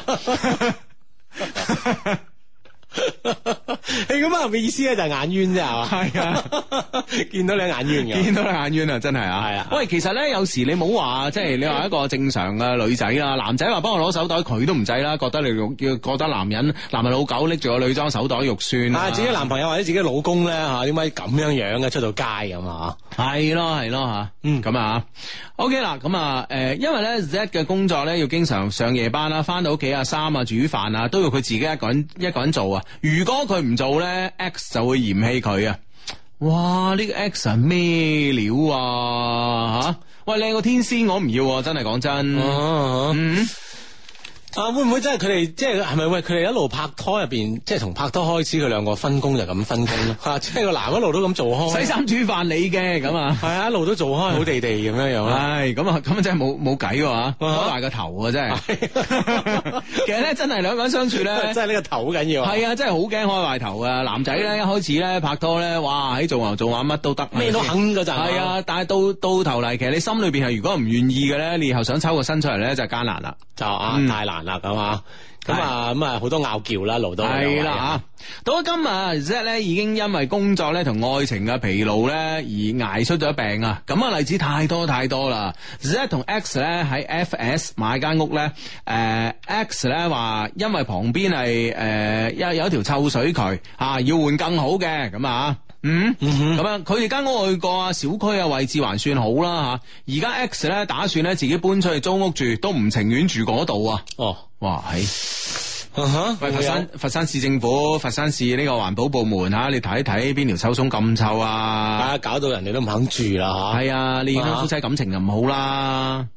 你咁啊嘅意思咧就係眼冤啫係嘛？ 係啊， 見到你眼冤嘅， 見到你眼冤啊，真係啊！係啊，喂，其實咧有時你冇話，即係你話一個正常嘅女仔啦，男仔話幫我攞手袋，佢都唔制啦，覺得你覺得男人老狗拎住個女裝手袋肉酸啊！ 自己男朋友或者自己老公咧吓，點解咁樣樣嘅出到街咁啊？ 係咯吓，咁啊 ，OK 啦，咁啊，因為咧 Z 嘅工作咧要經常上夜班啦，翻到屋企啊、衫啊、煮飯啊，都要佢自己一個人做啊。如果佢唔做咧 ，X 就會嫌棄佢啊！哇，呢個 X 係咩料啊？吓，喂，靚個天仙我唔要，真係講真。 會唔會真係佢哋即係係咪喂佢哋一路拍拖入邊，即係從拍拖開始佢兩個分工就咁分工咯？吓，即係個男一路都咁做開， 洗衫煮飯你嘅咁啊， 係啊，一路都做開好地地咁樣樣啦。 係咁啊，咁真係冇計喎，攞埋個頭啊真係。 其實咧真係兩個人相處咧， 真係呢個頭好緊要。 係啊，真係好驚開壞頭啊！男仔咧一開始咧拍拖咧，哇喺做牛做馬乜都得， 咩都肯嗰陣。 係啊，但係到頭嚟，其實你心裏邊係如果唔願意嘅咧，你以後想抽個身出嚟咧就艱難啦， 就太難啦咁啊。咁啊好多拗撬啦，路都係啦吓。到咗今日 Z 咧已經因為工作咧同愛情嘅疲勞咧而捱出咗病啊！咁啊例子太多啦。Z 同 X 咧喺 FS 買間屋咧，X 咧話因為旁邊係有一條臭水渠要換更好嘅咁啊。咁樣佢哋間屋去過啊，小區啊位置還算好啦吓。而家 X 咧打算咧自己搬出去租屋住，都唔情願住嗰度啊。哇喂，佛山市政府、佛山市呢個環保部門你睇一睇邊條臭松咁臭啊！ 搞到人哋都唔肯住啦吓。 係啊，你影響夫妻感情就唔好啦。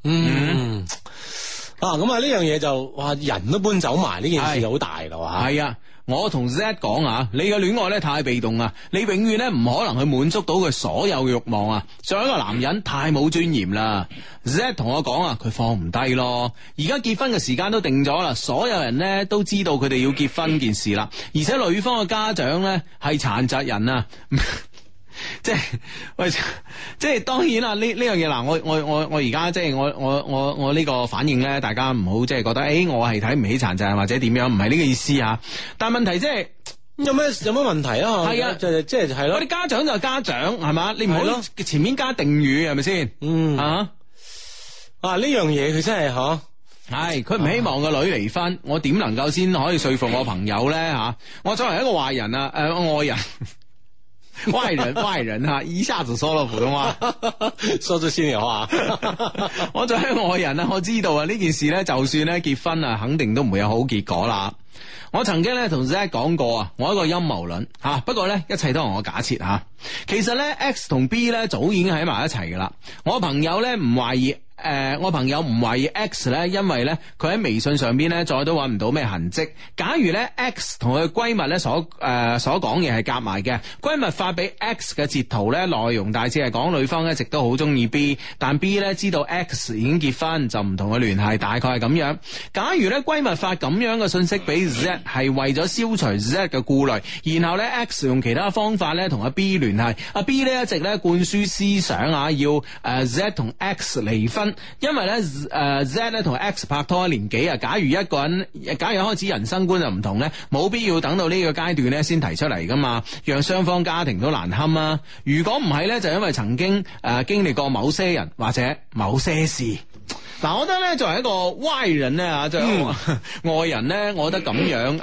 咁呢樣嘢就哇人都搬走埋，呢件事就好大咯吓。 係啊。我同 Z 講啊，你嘅戀愛咧太被動啊，你永遠咧唔可能去滿足到佢所有嘅欲望啊。作為一個男人太冇尊嚴啦。Z 同我講啊，佢放唔低咯。而家結婚嘅時間都定咗啦，所有人咧都知道佢哋要結婚件事啦。而且女方嘅家長咧係殘疾人啊。即係當然啦，呢樣嘢嗱，我而家即係我呢個反應咧，大家唔好即係覺得我係睇唔起殘疾人或者點樣，唔係呢個意思啊。但係問題即係有咩問題啊？係啊，即係咯。 我哋家長就係家長係嘛，你唔好前面加定語係咪先？呢樣嘢佢真係係佢唔希望個女離婚，我點能夠先可以說服我朋友咧吓？我作為一個壞人啊，愛人。外人一下子說了普通話， 說咗先嚟話。 我作為一個外人我知道呢件事咧，就算咧結婚肯定都唔會有好結果啦。我曾經咧同 Z 講過我一個陰謀論不過咧一切都係我假設其實咧 X 同 B 咧早已經喺埋一齊噶啦。我朋友咧唔懷疑。我朋友唔懷疑 X 咧，因為咧佢喺微信上邊咧再都揾唔到咩痕跡。假如咧 X 同佢閨蜜咧所講嘢係夾埋嘅，閨蜜發俾 X 嘅截圖咧內容大致係講女方一直都好中意 B， 但 B 咧知道 X 已經結婚就唔同佢聯繫，大概係咁樣。假如咧閨蜜發咁樣嘅信息俾 Z 係為咗消除 Z 嘅顧慮，然後咧 X 用其他方法咧同阿 B 聯繫，阿 B 咧一直咧灌輸思想要Z 同 X 離婚。因為咧Z 咧同 X 拍拖一年幾假如一個人開始人生觀就唔同咧，冇必要等到呢個階段咧先提出嚟噶嘛，讓雙方家庭都難堪啊。如果唔係咧，就因為曾經經歷過某些人或者某些事。嗱，我覺得咧作為一個歪人咧作為外人咧，我覺得咁樣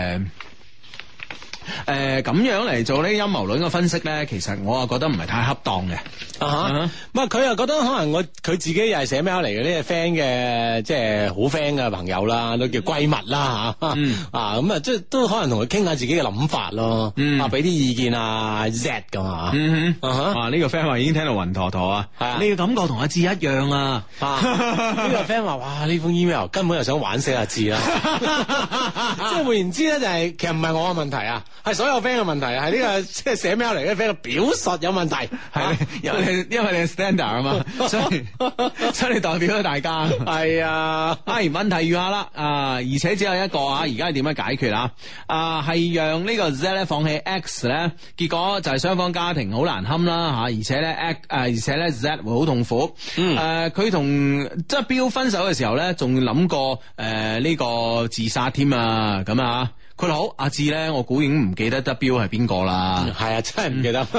咁樣嚟做呢陰謀論嘅分析咧，其實我啊覺得唔係太恰當嘅。 佢又覺得可能佢自己又係寫 mail 嚟嘅呢個 friend 嘅，即係好 friend 嘅朋友啦，都叫閨蜜啦吓。咁啊，即係都可能同佢傾下自己嘅諗法咯。俾啲意見Z 咁啊。呢個 friend 話已經聽到暈陀陀啊。你嘅感覺同阿志一樣啊。 呢個 friend 話哇，呢封 email 根本就想玩死阿志啦。即係換言之咧，就係其實唔係我嘅問題啊。係所有 friend 嘅問題，係呢個即係寫 mail 嚟嘅 friend 嘅表述有問題， 係因為你係 standard 啊嘛，所以你代表咗大家。係啊，問題如下啦，而且只有一個而家係點樣解決係讓呢個 Z 咧放棄 X 咧，結果就係雙方家庭好難堪啦而且咧 Z 會好痛苦。佢同即係標分手嘅時候咧，仲諗過呢個自殺添啊，咁啊。佢好，阿志咧，我估已經唔記得 W 係邊個啦。 係啊，真係唔記得。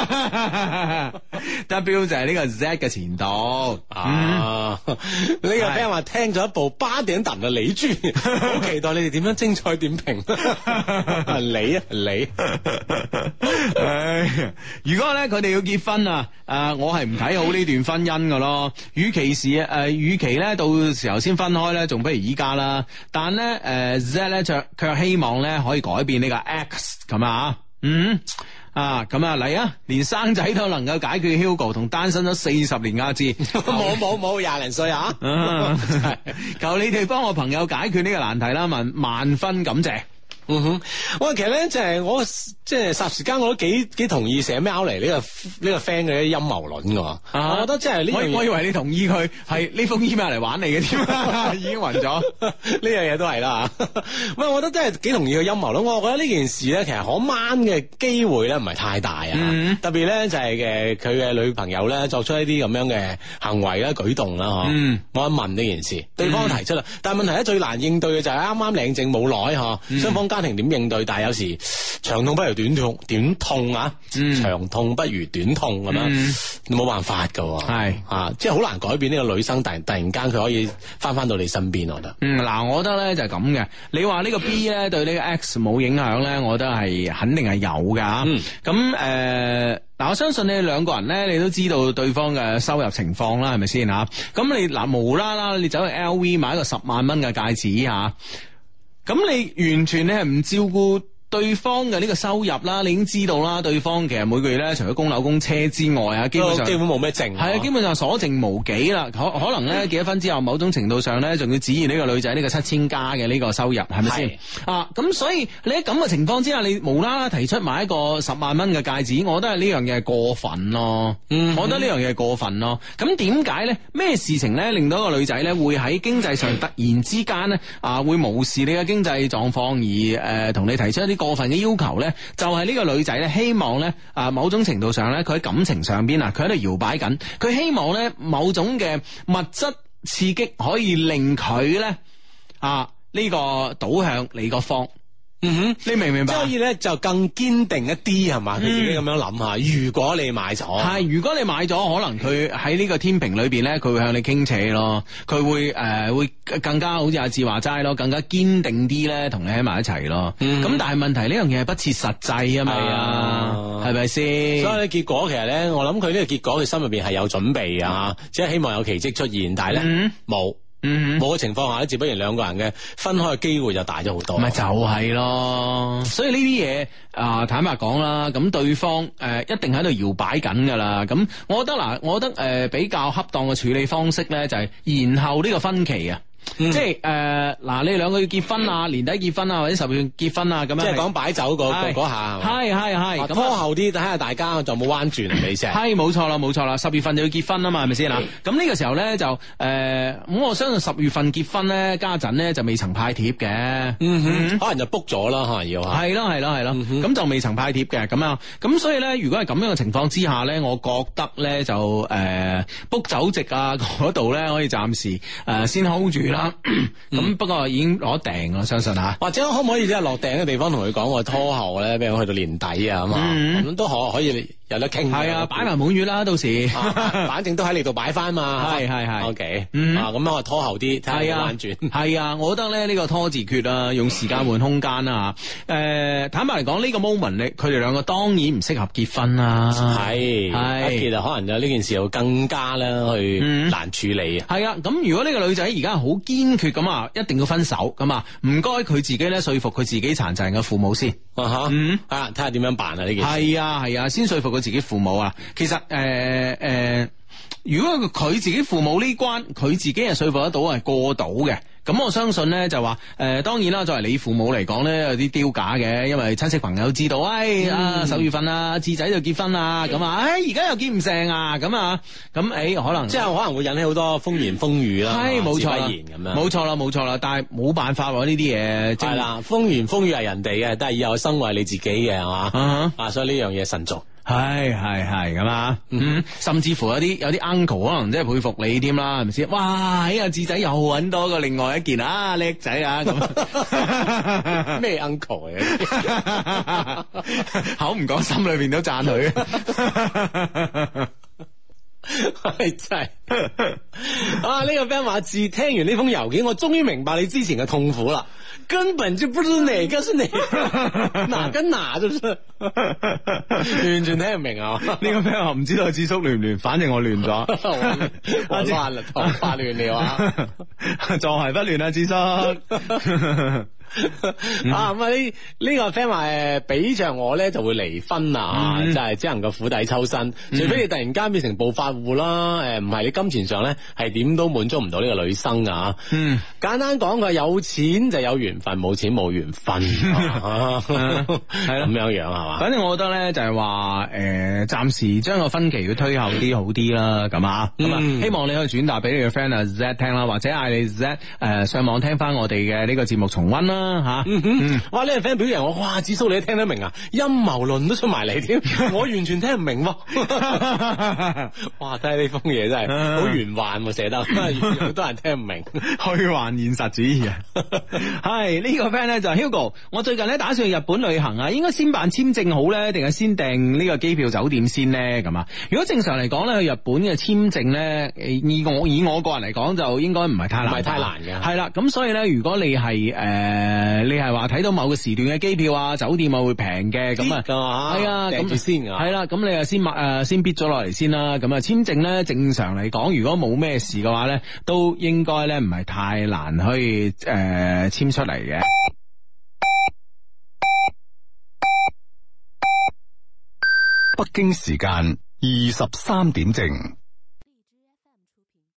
W 就係呢個 Z 嘅前度。 呢個 friend 話聽咗一部八點檔嘅李豬，好期待你哋點樣精彩點評。你。 如果咧佢哋要結婚我係唔睇好呢段婚姻噶咯。與其咧到時候先分開咧，仲不如依家啦。但咧Z 咧卻希望咧可以改變呢個 X 咁啊。咁嚟啊！連生仔都能夠解決 Hugo 同單身咗40年阿志， 冇20零歲求你哋幫我朋友解決呢個難題啦，萬分感謝。 喂，其實咧就係我即係霎時間我都幾同意寫喵嚟呢個 friend 嘅陰謀論㗎。我覺得即係呢樣嘢， 我以為你同意佢係呢封 email 嚟玩你嘅添，已經暈咗。 呢樣嘢都係啦。喂，我覺得真係幾同意佢陰謀論。我覺得呢件事咧，其實可掹嘅機會咧唔係太大啊。特別咧就係佢嘅女朋友咧作出一啲咁樣嘅行為啦、舉動啦，我一問呢件事，對方提出啦，但係問題咧最難應對嘅就係啱啱領證冇耐雙方家庭點應對？但係有時長痛不如短痛啊，長痛不如短痛咁樣，冇辦法噶，係即係好難改變呢個女生，突然間佢可以翻到你身邊，我覺得。 嗱，我覺得咧就係咁嘅。你話呢個 B 咧對呢個 X 冇影響咧，我覺得係肯定係有噶。咁嗱，我相信你兩個人咧，你都知道對方嘅收入情況啦，係咪先吓？咁你嗱無啦啦，你走去 LV 買一個10萬蚊嘅戒指吓，咁你完全你係唔照顧對方嘅呢個收入啦，你已經知道啦，對方其實每個月咧，除咗供樓供車之外啊，基本冇咩剩，係啊，基本上所剩無幾啦。可能咧結咗婚之後，某種程度上咧，仲要指意呢個女仔呢個7000加嘅呢個收入，係咪先？啊，咁所以你喺咁嘅情況之下，你無啦啦提出買一個10萬蚊嘅戒指，我覺得係呢樣嘢係過分咯。我覺得呢樣嘢係過分咯。咁點解咧？咩事情咧令到一個女仔咧會喺經濟上突然之間咧會無視你嘅經濟狀況而同你提出一啲過分嘅要求咧，就係呢個女仔咧希望咧某種程度上咧佢喺感情上邊佢喺度搖擺緊，佢希望咧某種嘅物質刺激可以令佢咧呢個倒向你個方。你明唔明白？所以咧就更堅定一啲係嘛？佢自己咁樣諗下，如果你買咗，係如果你買咗，可能佢喺呢個天平裏邊咧，佢會向你傾斜咯，佢會更加好似阿志話齋咯，更加堅定啲咧，同你喺埋一齊咯。咁但係問題呢樣嘢係不切實際啊嘛，係咪先？所以咧結果其實咧，我諗佢呢個結果佢心入邊係有準備啊，即係希望有奇蹟出現，但係咧冇。冇嘅情況下咧，自不然兩個人嘅分開嘅機會就大咗好多。咪就係咯，所以呢啲嘢坦白講啦，咁對方一定喺度搖擺緊噶啦。咁我覺得比較恰當嘅處理方式咧，就係延後呢個分期啊。即係你哋兩個要結婚啊，年底結婚啊，或者10月結婚啊，咁樣即係講擺酒嗰下係拖後啲，睇下大家就冇彎轉你先係冇錯啦，10月份就要結婚啊嘛，係咪先啦？咁呢個時候咧就咁我相信10月份結婚咧，家陣咧就未曾派貼嘅，可能就 book 咗啦，可能要係咯，咁就未曾派貼嘅咁樣，咁所以咧，如果係咁樣嘅情況之下咧，我覺得咧就book 酒席啊嗰度咧可以暫時先 hold 住啦。咁不過已經攞訂啦，相信吓。或者可唔可以即係落訂嘅地方同佢講我拖後咧，俾我去到年底啊咁啊，咁都可以有得傾。係啊，擺埋滿月啦，到時反正都喺你度擺翻嘛。係 OK，咁我拖後啲，睇下彎轉。係啊，我覺得咧呢個拖字訣啊，用時間換空間啊。坦白嚟講，呢個 moment 佢哋兩個當然唔適合結婚啦。係其實可能就呢件事又更加咧去難處理啊。係啊，咁如果呢個女仔而家好堅決咁啊，一定要分手咁啊，唔該佢自己咧說服佢自己殘疾人嘅父母先。睇下點樣辦啊呢件事。係啊，先說服佢自己父母啊。其實如果佢自己父母呢關，佢自己係說服得到係過到嘅。咁我相信咧就話當然啦，作為你父母嚟講咧有啲丟架嘅，因為親戚朋友知道10月份啊智仔就結婚啊，咁而家又結唔成啊，咁可能即係可能會引起好多風言風語啦，係冇錯咁樣，冇錯啦，但係冇辦法喎呢啲嘢，係啦，風言風語係人哋嘅，但係以後生為你自己嘅係嘛，所以呢樣嘢慎重。係咁啊，甚至乎有啲 uncle 可能真係佩服你添啦，係咪先？哇，阿智仔又揾多個另外一件叻仔啊！咁咩 uncle 嚟？口唔講，心裏邊都讚佢。係真係呢個 friend 話自聽完呢封郵件，我終於明白你之前嘅痛苦啦。根本就不知哪個是哪跟哪，就是完全聽唔明啊！呢個 friend 話唔知道智叔亂唔亂，反正我亂咗，我亂啦，頭髮亂了啊！坐鞋不亂啊，智叔。 啊咁啊呢個 friend 話俾着我咧就會離婚啊，就係只能夠釜底抽薪，除非你突然間變成暴發戶啦，唔係你金錢上咧係點都滿足唔到呢個女生啊。簡單講佢有錢就有緣分，冇錢冇緣分，係咁樣樣係嘛？ 反正我覺得咧就係話暫時將個分期要推後啲好啲啦，咁啊，咁啊，希望你可以轉達俾你嘅 friend 啊 Z 聽啦，或者嗌你 Z 上網聽翻我哋嘅呢個節目重溫啦吓。 哇！呢個 friend 表揚我，哇！子蘇你都聽得明啊，陰謀論都出埋嚟添，我完全聽唔明喎。哇！睇下呢封嘢真係好玄幻寫得，好多人聽唔明， 虛幻現實主義啊。係呢個 friend 咧就 Hugo， 我最近咧打算去日本旅行啊，應該先辦簽證好咧，定係先訂呢個機票酒店先咧？咁啊，如果正常嚟講咧，去日本嘅簽證咧，以我個人嚟講就應該唔係太難， 唔係太難嘅。 係啦，咁所以咧，如果你係你係話睇到某個時段嘅機票啊、酒店啊會平嘅，咁啊係啊， 訂住先啊， 係啦，咁你啊先逼咗落嚟先啦。咁啊簽證咧，正常嚟講，如果冇咩事嘅話咧，都應該咧唔係太難可以簽出嚟嘅。 北京時間23點正。